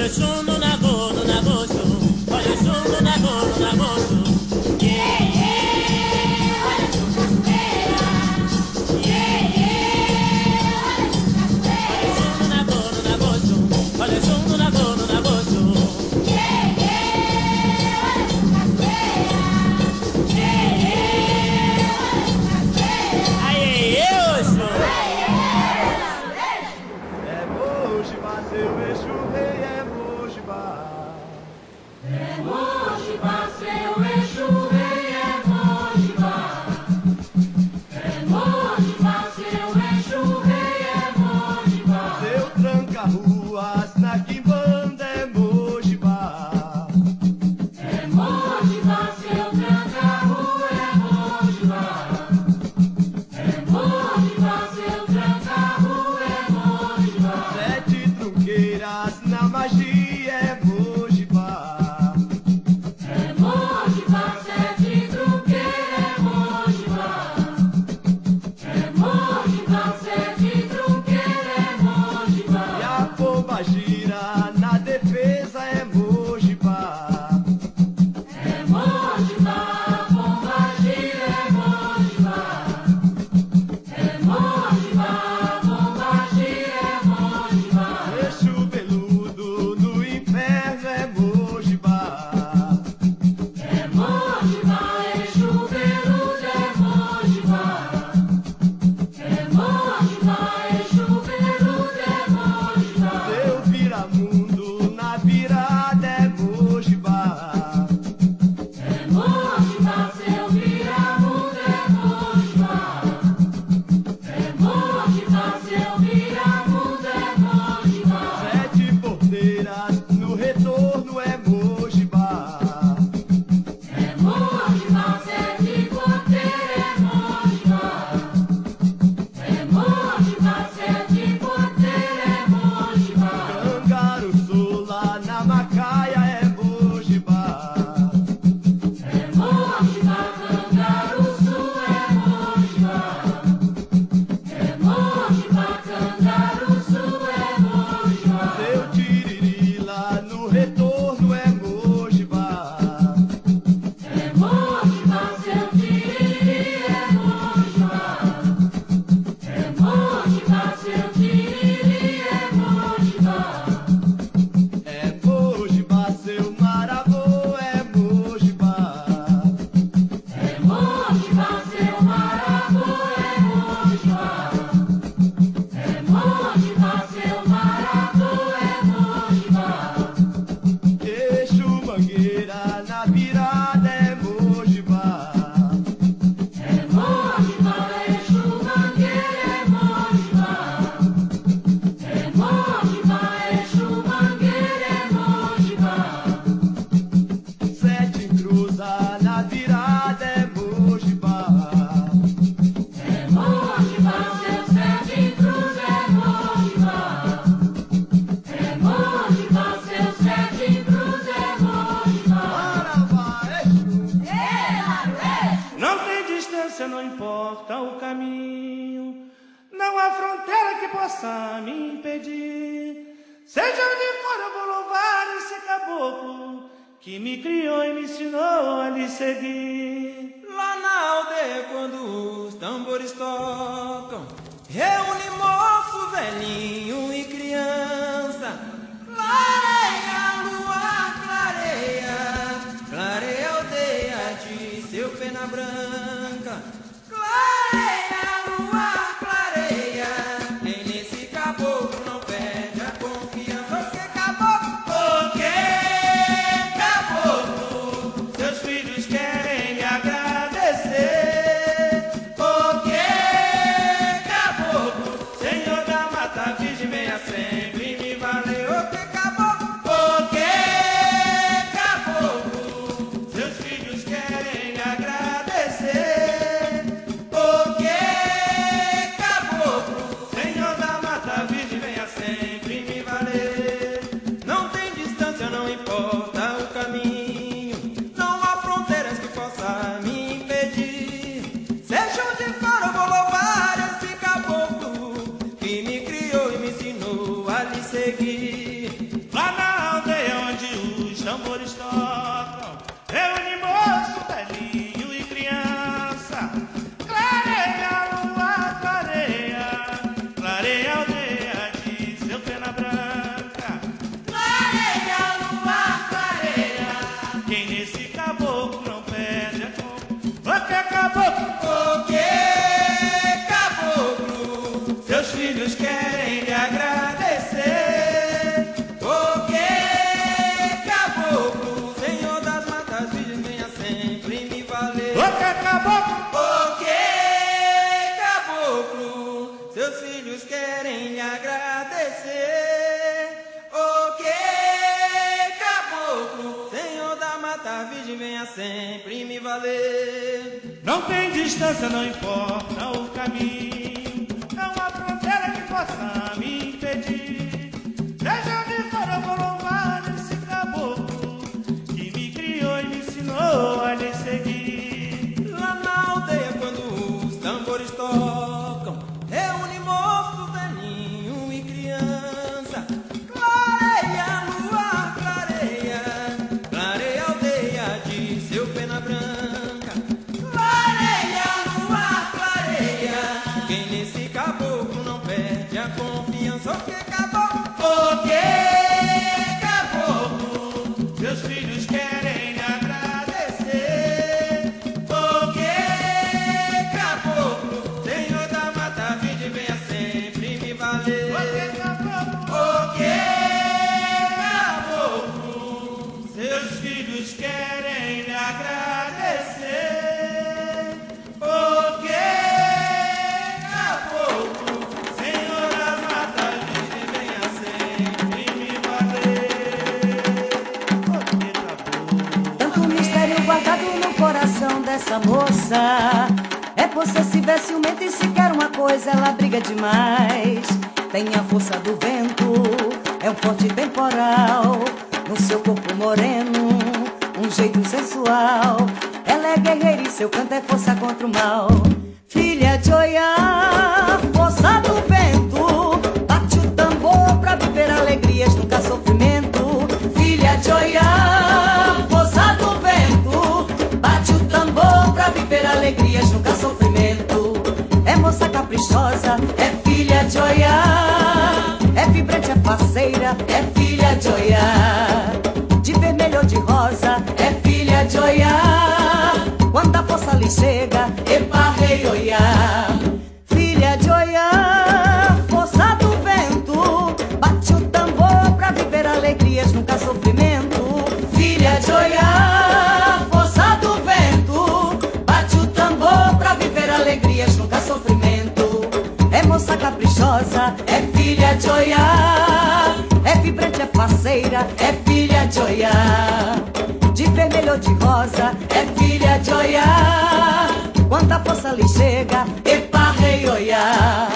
olha o chum no nagosto, olha o chum no nagosto. Yeah, yeah, olha o chum cachoeira. Yeah, yeah, olha o chum no nagosto. Yeah, yeah, olha o chum cachoeira. Yeah, yeah, olha o chum cachoeira. Aê, Oxo! É Mojibá, seu eixo rei, é Mojibá. É Mojibá, seu eixo rei, é Mojibá. É Mojibá, seu eixo rei, é Mojibá. Seu tranca-ruas na quimbanda é Mojibá. É Mojibá, seu tranca-rua, é Mojibá. É Mojibá, seu tranca-rua, é Mojibá. Sete trunqueiras na magia é Mojibá. É Mojibá, sete truqueira, é Mojibá. É Mojibá, sete truqueira, é Mojibá. E a pomba gira na defesa é Mojibá. É Mojibá, pomba gira, é Mojibá. É Mojibá, pomba gira, é Mojibá. Eixo peludo no inferno é Mojibá. É Mojibá, eixo peludo, é Mojibá. É Mojibá, eixo peludo, é Mojibá. Seu viramundo na virada é Mojibá. É Mojibá, seu viramundo, é Mojibá. É Mojibá, seu viramundo, é Mojibá. Sete porteiras no retorno é Mojibá. É Mojibá, sete porteira, é Mojibá. É Mojibá, sete porteira, é Mojibá. Cangaruçula na macaia é Mojibá. É Mojibá, cangaruçu, é Mojibá. É Mojibá, cangaruçu, é Mojibá. Seu tiririla no retorno é Mojibá. É Mojibá, seu tiriri, é Mojibá. É Mojibá, seu tiriri, é Mojibá. É Mojibá, seu maravô é Mojibá. É Mojibá, seu maravô, é Mojibá. É Mojibá, seu maravô, é Mojibá. Eixo mangueira na virada é Mojibá. É Mojibá, eixo mangueira, é Mojibá. É Mojibá, eixo mangueira, é Mojibá. Sete cruza na virada é Mojibá. É Mojibá, seu sete cruz, é Mojibá. É Mojibá, seu sete cruz, é Mojibá. Não tem distância, não importa o caminho. Não há fronteira que possa me impedir. Seja onde for, eu vou louvar esse caboclo que me criou e me ensinou a lhe seguir. Lá na aldeia, quando os tambores tocam, reúne moço, velhinho e criança. Clareia, lua, clareia, clareia a aldeia de seu pena branca. Clareia, lua, clareia, quem nesse caboclo não perde a confiança. Porque caboclo, Seus filhos querem lhe agradecer. porque caboclo, Senhor da mata virgem, venha sempre me valer. porque caboclo, Seus filhos querem lhe agradecer. tocam, reúne moço, velhinho e criança. Clareia a lua, clareia a aldeia de seu pena branca. Clareia a lua, clareia, quem nesse caboclo não perde a conta. O que caboclo? O que caboclo? Seus filhos querem lhe agradecer. O que caboclo, Senhor das matas virgens, venha sempre me valer. O que caboclo? O que caboclo, seus filhos querem lhe agradecer. O que caboclo, Senhor da mata virgem, venha sempre me valer. Não tem distância, não importa o caminho, não há fronteira que possa me impedir. Seja onde for, eu vou louvar esse caboclo que me criou e me ensinou a lhe seguir. Lá na aldeia, quando os tambores tocam, reúne moço, velhinho e criança. Clareia a lua, clareia, clareia a aldeia de seu pena branca. Clareia a lua, clareia, quem nesse caboclo não perde a confiança. O que caboclo? O que caboclo? Seus filhos querem lhe agradecer. O que caboclo, Senhor da mata virgem, venha sempre me valer. O que caboclo? O que caboclo, Seus filhos querem lhe agradecer. O que caboclo? Senhor das matas virgens, venha sempre me valer. O que caboclo? Tanto mistério guardado no coração dessa moça. É possessiva, é ciumenta e se quer uma coisa ela briga demais. Tem a força do vento, é um forte temporal. No seu corpo moreno, um jeito sensual. Ela é guerreira e seu canto é força contra o mal. Filha de Oiá, força do vento, bate o tambor pra viver alegrias, nunca sofrimento. Filha de Oiá, força do vento, bate o tambor pra viver alegrias, nunca sofrimento. É moça caprichosa, é filha de Oiá, é vibrante, é faceira, é filha de Oiá. De vermelho ou de rosa, é filha de Oiá. Quando a força lhe chega, epa, rei Oiá. Filha de Oiá, força do vento, bate o tambor pra viver alegrias, nunca sofrimento. Filha de Oiá, força do vento, bate o tambor pra viver alegrias, nunca sofrimento. É moça caprichosa, é filha de Oiá, é vibrante, é faceira, é filha de Oiá. De vermelho ou de rosa, é filha de Oiá. Quando a força lhe chega, epa, rei Oiá.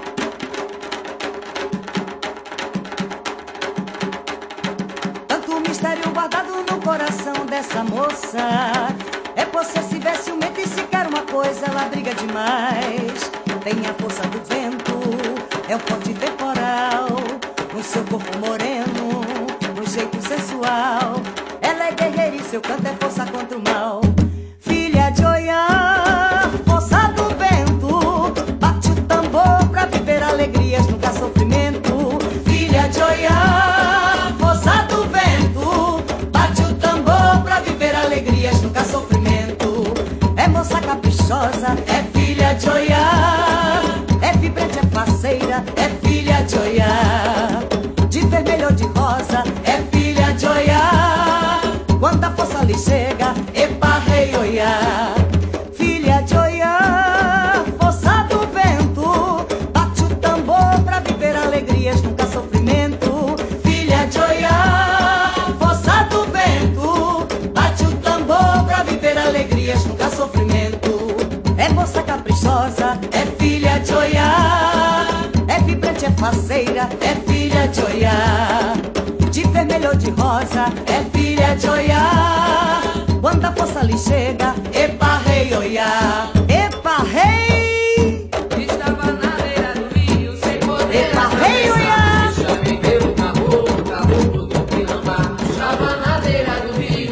Tanto mistério guardado no coração dessa moça. É possessiva, é ciumenta e se quer uma coisa ela briga demais. Tem a força do vento, é um forte temporal. No seu corpo moreno, no jeito sensual. Ela é guerreira e seu canto é força contra o mal. Filha de Oiá, força do vento, bate o tambor pra viver alegrias, nunca sofrimento. Filha de Oiá, força do vento, bate o tambor pra viver alegrias, nunca sofrimento. É moça caprichosa, é filha de Oiá, é vibrante, é faceira, é filha de Oiá. De vermelho ou de rosa, é filha de Oiá. Quando a força lhe chega, epa, rei Oiá. Filha de Oiá, força do vento, bate o tambor pra viver alegrias, nunca sofrimento. Filha de Oiá, força do vento, bate o tambor pra viver alegrias, nunca sofrimento. É moça caprichosa, é filha de Oiá, é vibrante, é faceira, é filha de Oiá. De vermelho ou de rosa, é filha de Oiá. Quando a força lhe chega, epa, rei Oiá. Epa, rei! Estava na beira do rio, sem poder Epa, rei Oiá! Já me deu um caboclo do Quilambá. Estava na beira do rio,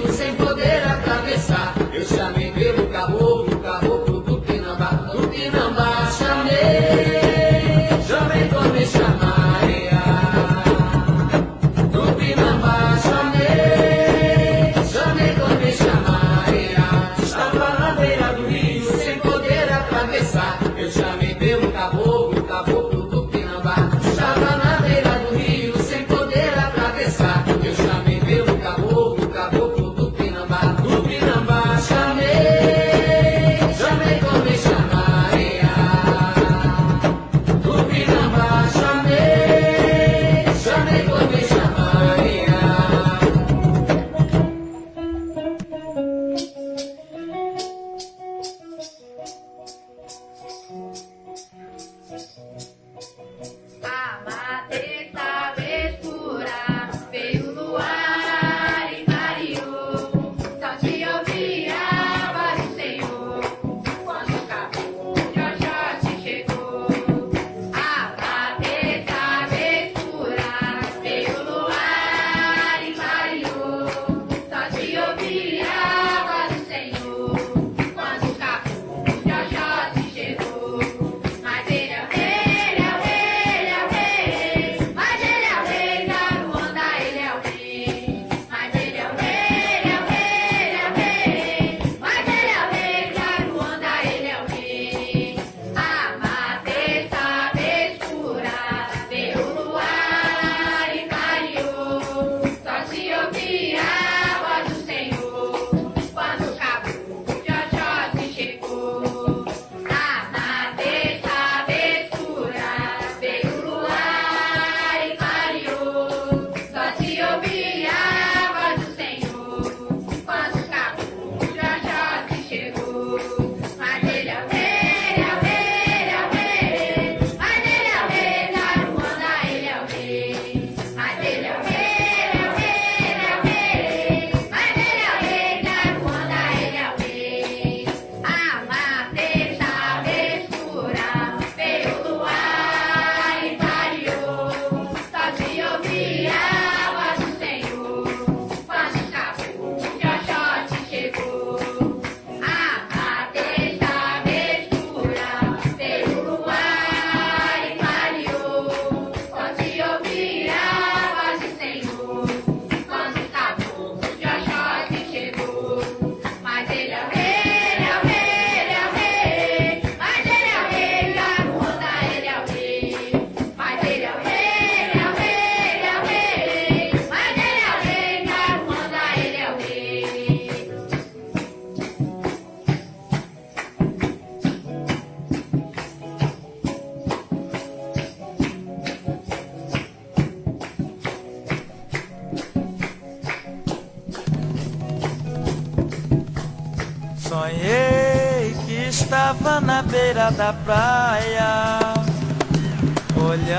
sonhei que estava na beira da praia, olhando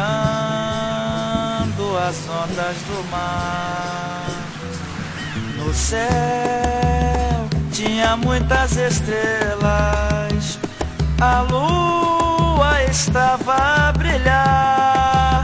as ondas do mar. No céu tinha muitas estrelas, a lua estava a brilhar.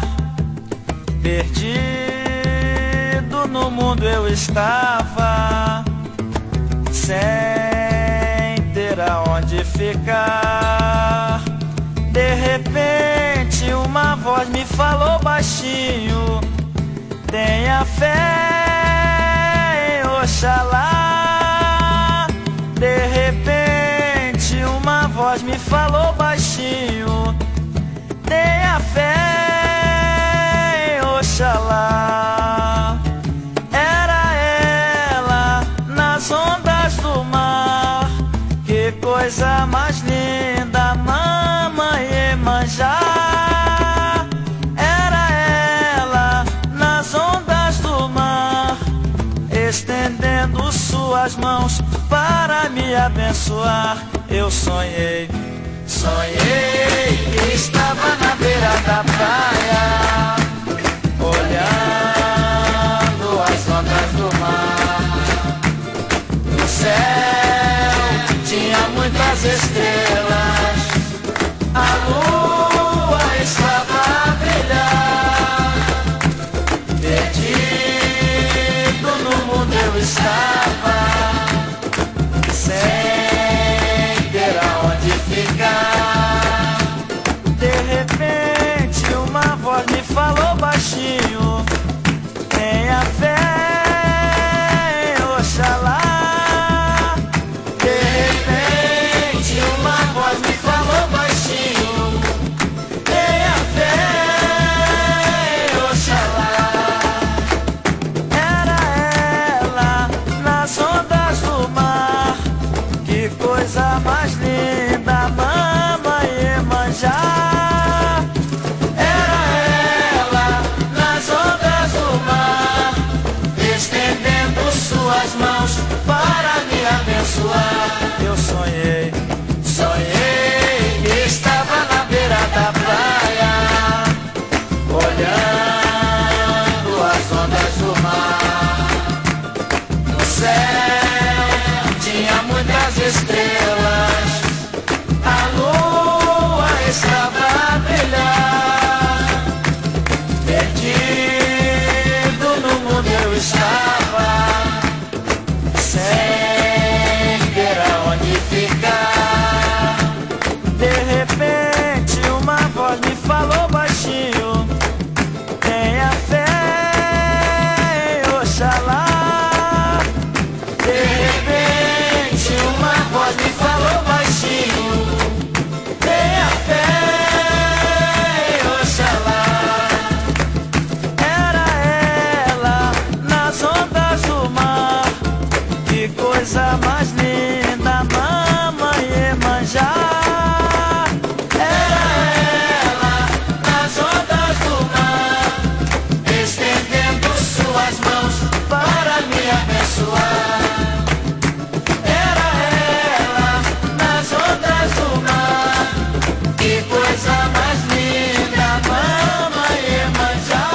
Perdido no mundo eu estava, sem ter aonde ficar. De repente uma voz me falou baixinho: tenha fé em Oxalá. De repente uma voz me falou baixinho: tenha fé em Oxalá. Era ela nas ondas do mar, que coisa mais linda, mamãe Iemanjá. Era ela nas ondas do mar, estendendo suas mãos para me abençoar. Eu sonhei, sonhei que estava na beira da praia, olhando as ondas do mar. No céu tinha muitas estrelas, a lua estava a brilhar. Perdido no mundo eu estava, sem ter aonde ficar. De repente uma voz me falou baixinho: tenha fé em Oxalá. De repente uma voz me falou baixinho: tenha fé em Oxalá. Era ela nas ondas do mar, que coisa mais linda, mamãe Iemanjá. Era ela nas ondas do mar, estendendo suas mãos para me abençoar. Eu sonhei, sonhei que estava na beira da praia, olhando as ondas do mar. No céu tinha muitas estrelas, a lua estava a brilhar. Perdido no mundo eu estava, sem ter aonde ficar. De repente uma voz me falou baixinho: tenha fé em Oxalá. De repente uma voz me falou baixinho: tenha fé em Oxalá. Era ela nas ondas do mar, que coisa mais linda, mamãe Iemanjá. Era ela nas ondas do mar, estendendo suas mãos para me abençoar. Era ela nas ondas do mar, que coisa mais linda, mamãe Iemanjá.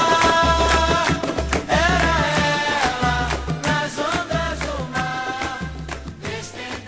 Era ela nas ondas do mar, estendendo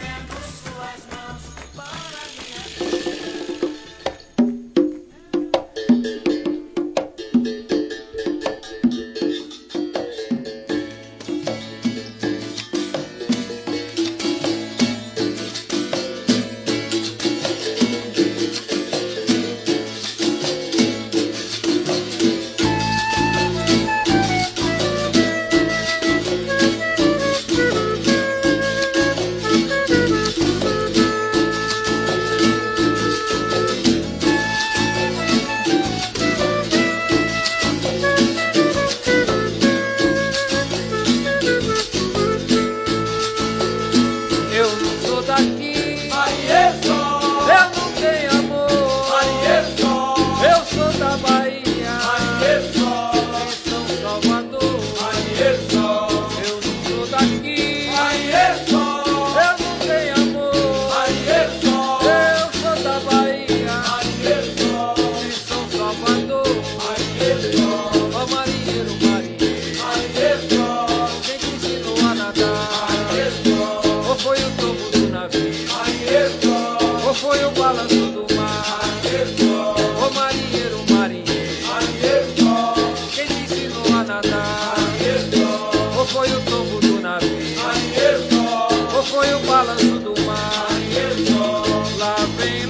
foi o balanço do mar. Lá vem,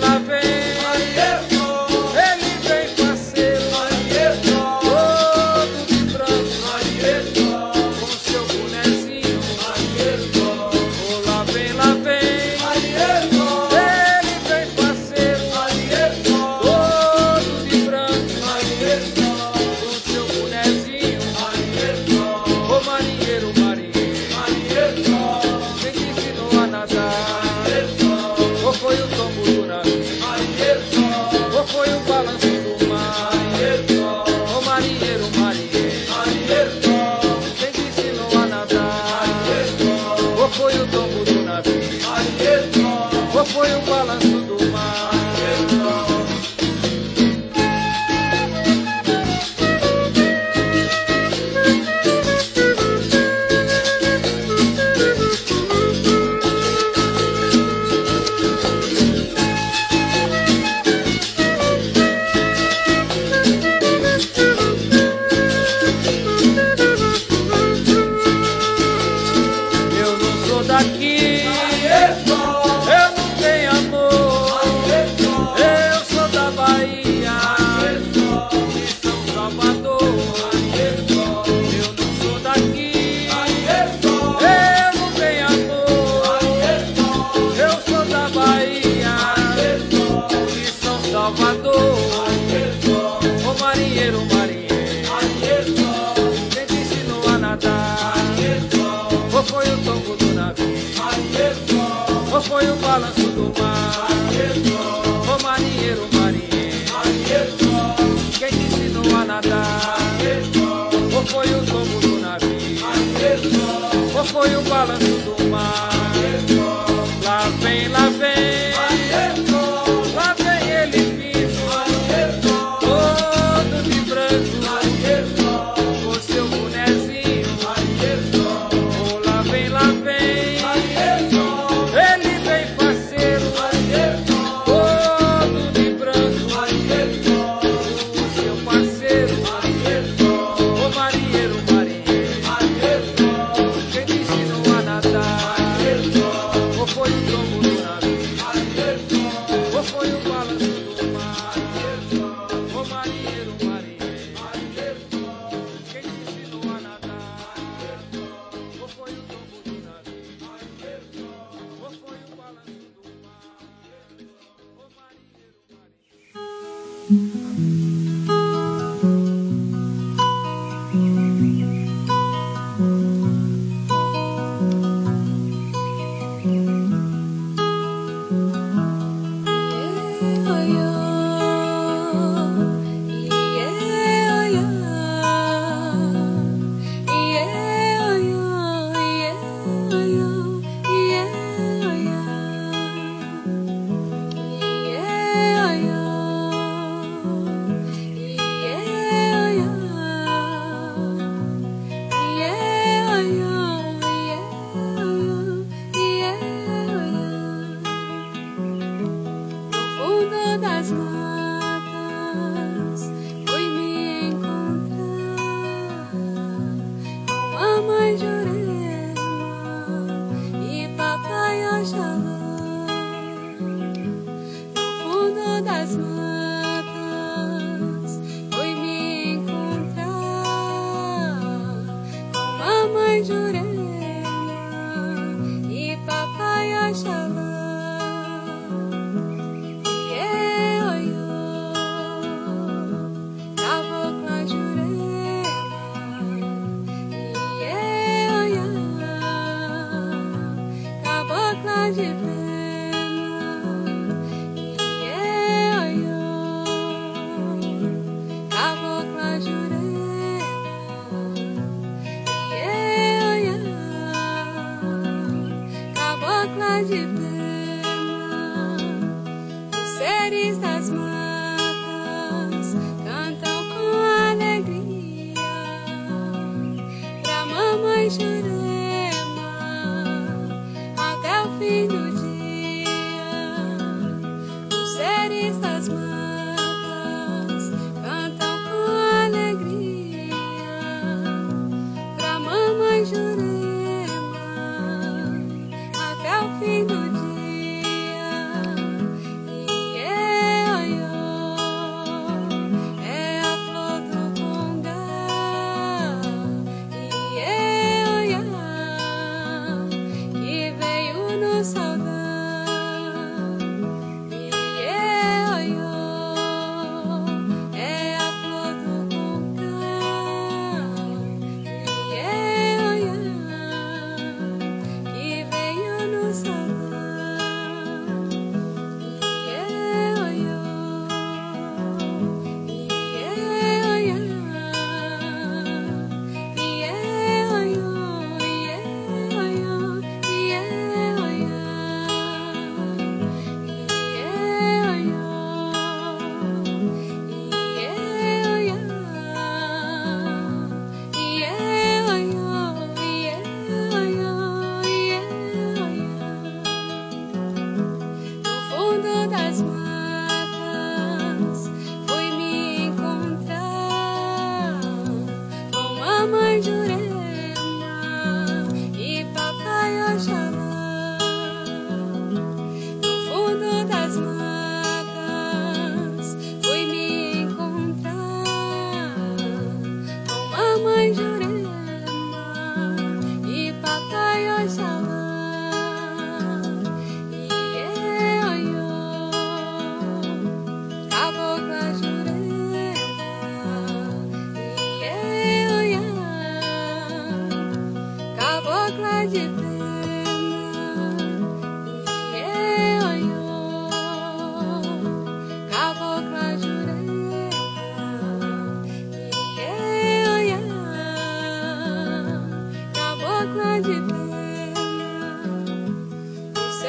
ele vem parceiro, todo de branco, com seu bonezinho. Oh, lá vem, ele vem parceiro, todo de branco, com seu bonezinho. Oh, marinheiro, quem te ensinou a nadar? Ou foi o tombo do navio? Ou foi o balanço do mar? Oh, marinheiro, quem te ensinou a nadar? Ou foi o tombo do navio? Ou foi o balanço do mar? Eu não sou daqui, eu não tenho amor. Eu sou da Bahia, de São Salvador. Eu não sou daqui, eu não tenho amor. Eu sou da Bahia, de São Salvador. Ô marinheiro, quem te ensinou a nadar? Ou foi o tombo do navio? Ou foi o balanço do mar? Ô marinheiro, quem te ensinou a nadar? Ou foi o tombo do navio? Ou foi o balanço do mar? Lá vem, ele vindo, todo de branco, com seu bonezinho. Oh, lá vem, ele vem parceiro, todo de branco, com seu parceiro. Oh, marinheiro, quem te ensinou a nadar? Ou foi o tombo do navio? Ou foi o balanço do mar? Oh, marinheiro, quem te ensinou a nadar? Ou foi o tombo do navio? Ou foi o balanço do mar? Oh, Até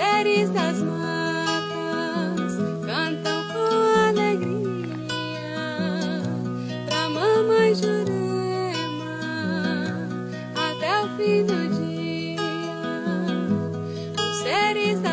seres das matas cantam com alegria pra mamãe Jurema até o fim do dia. Os seres das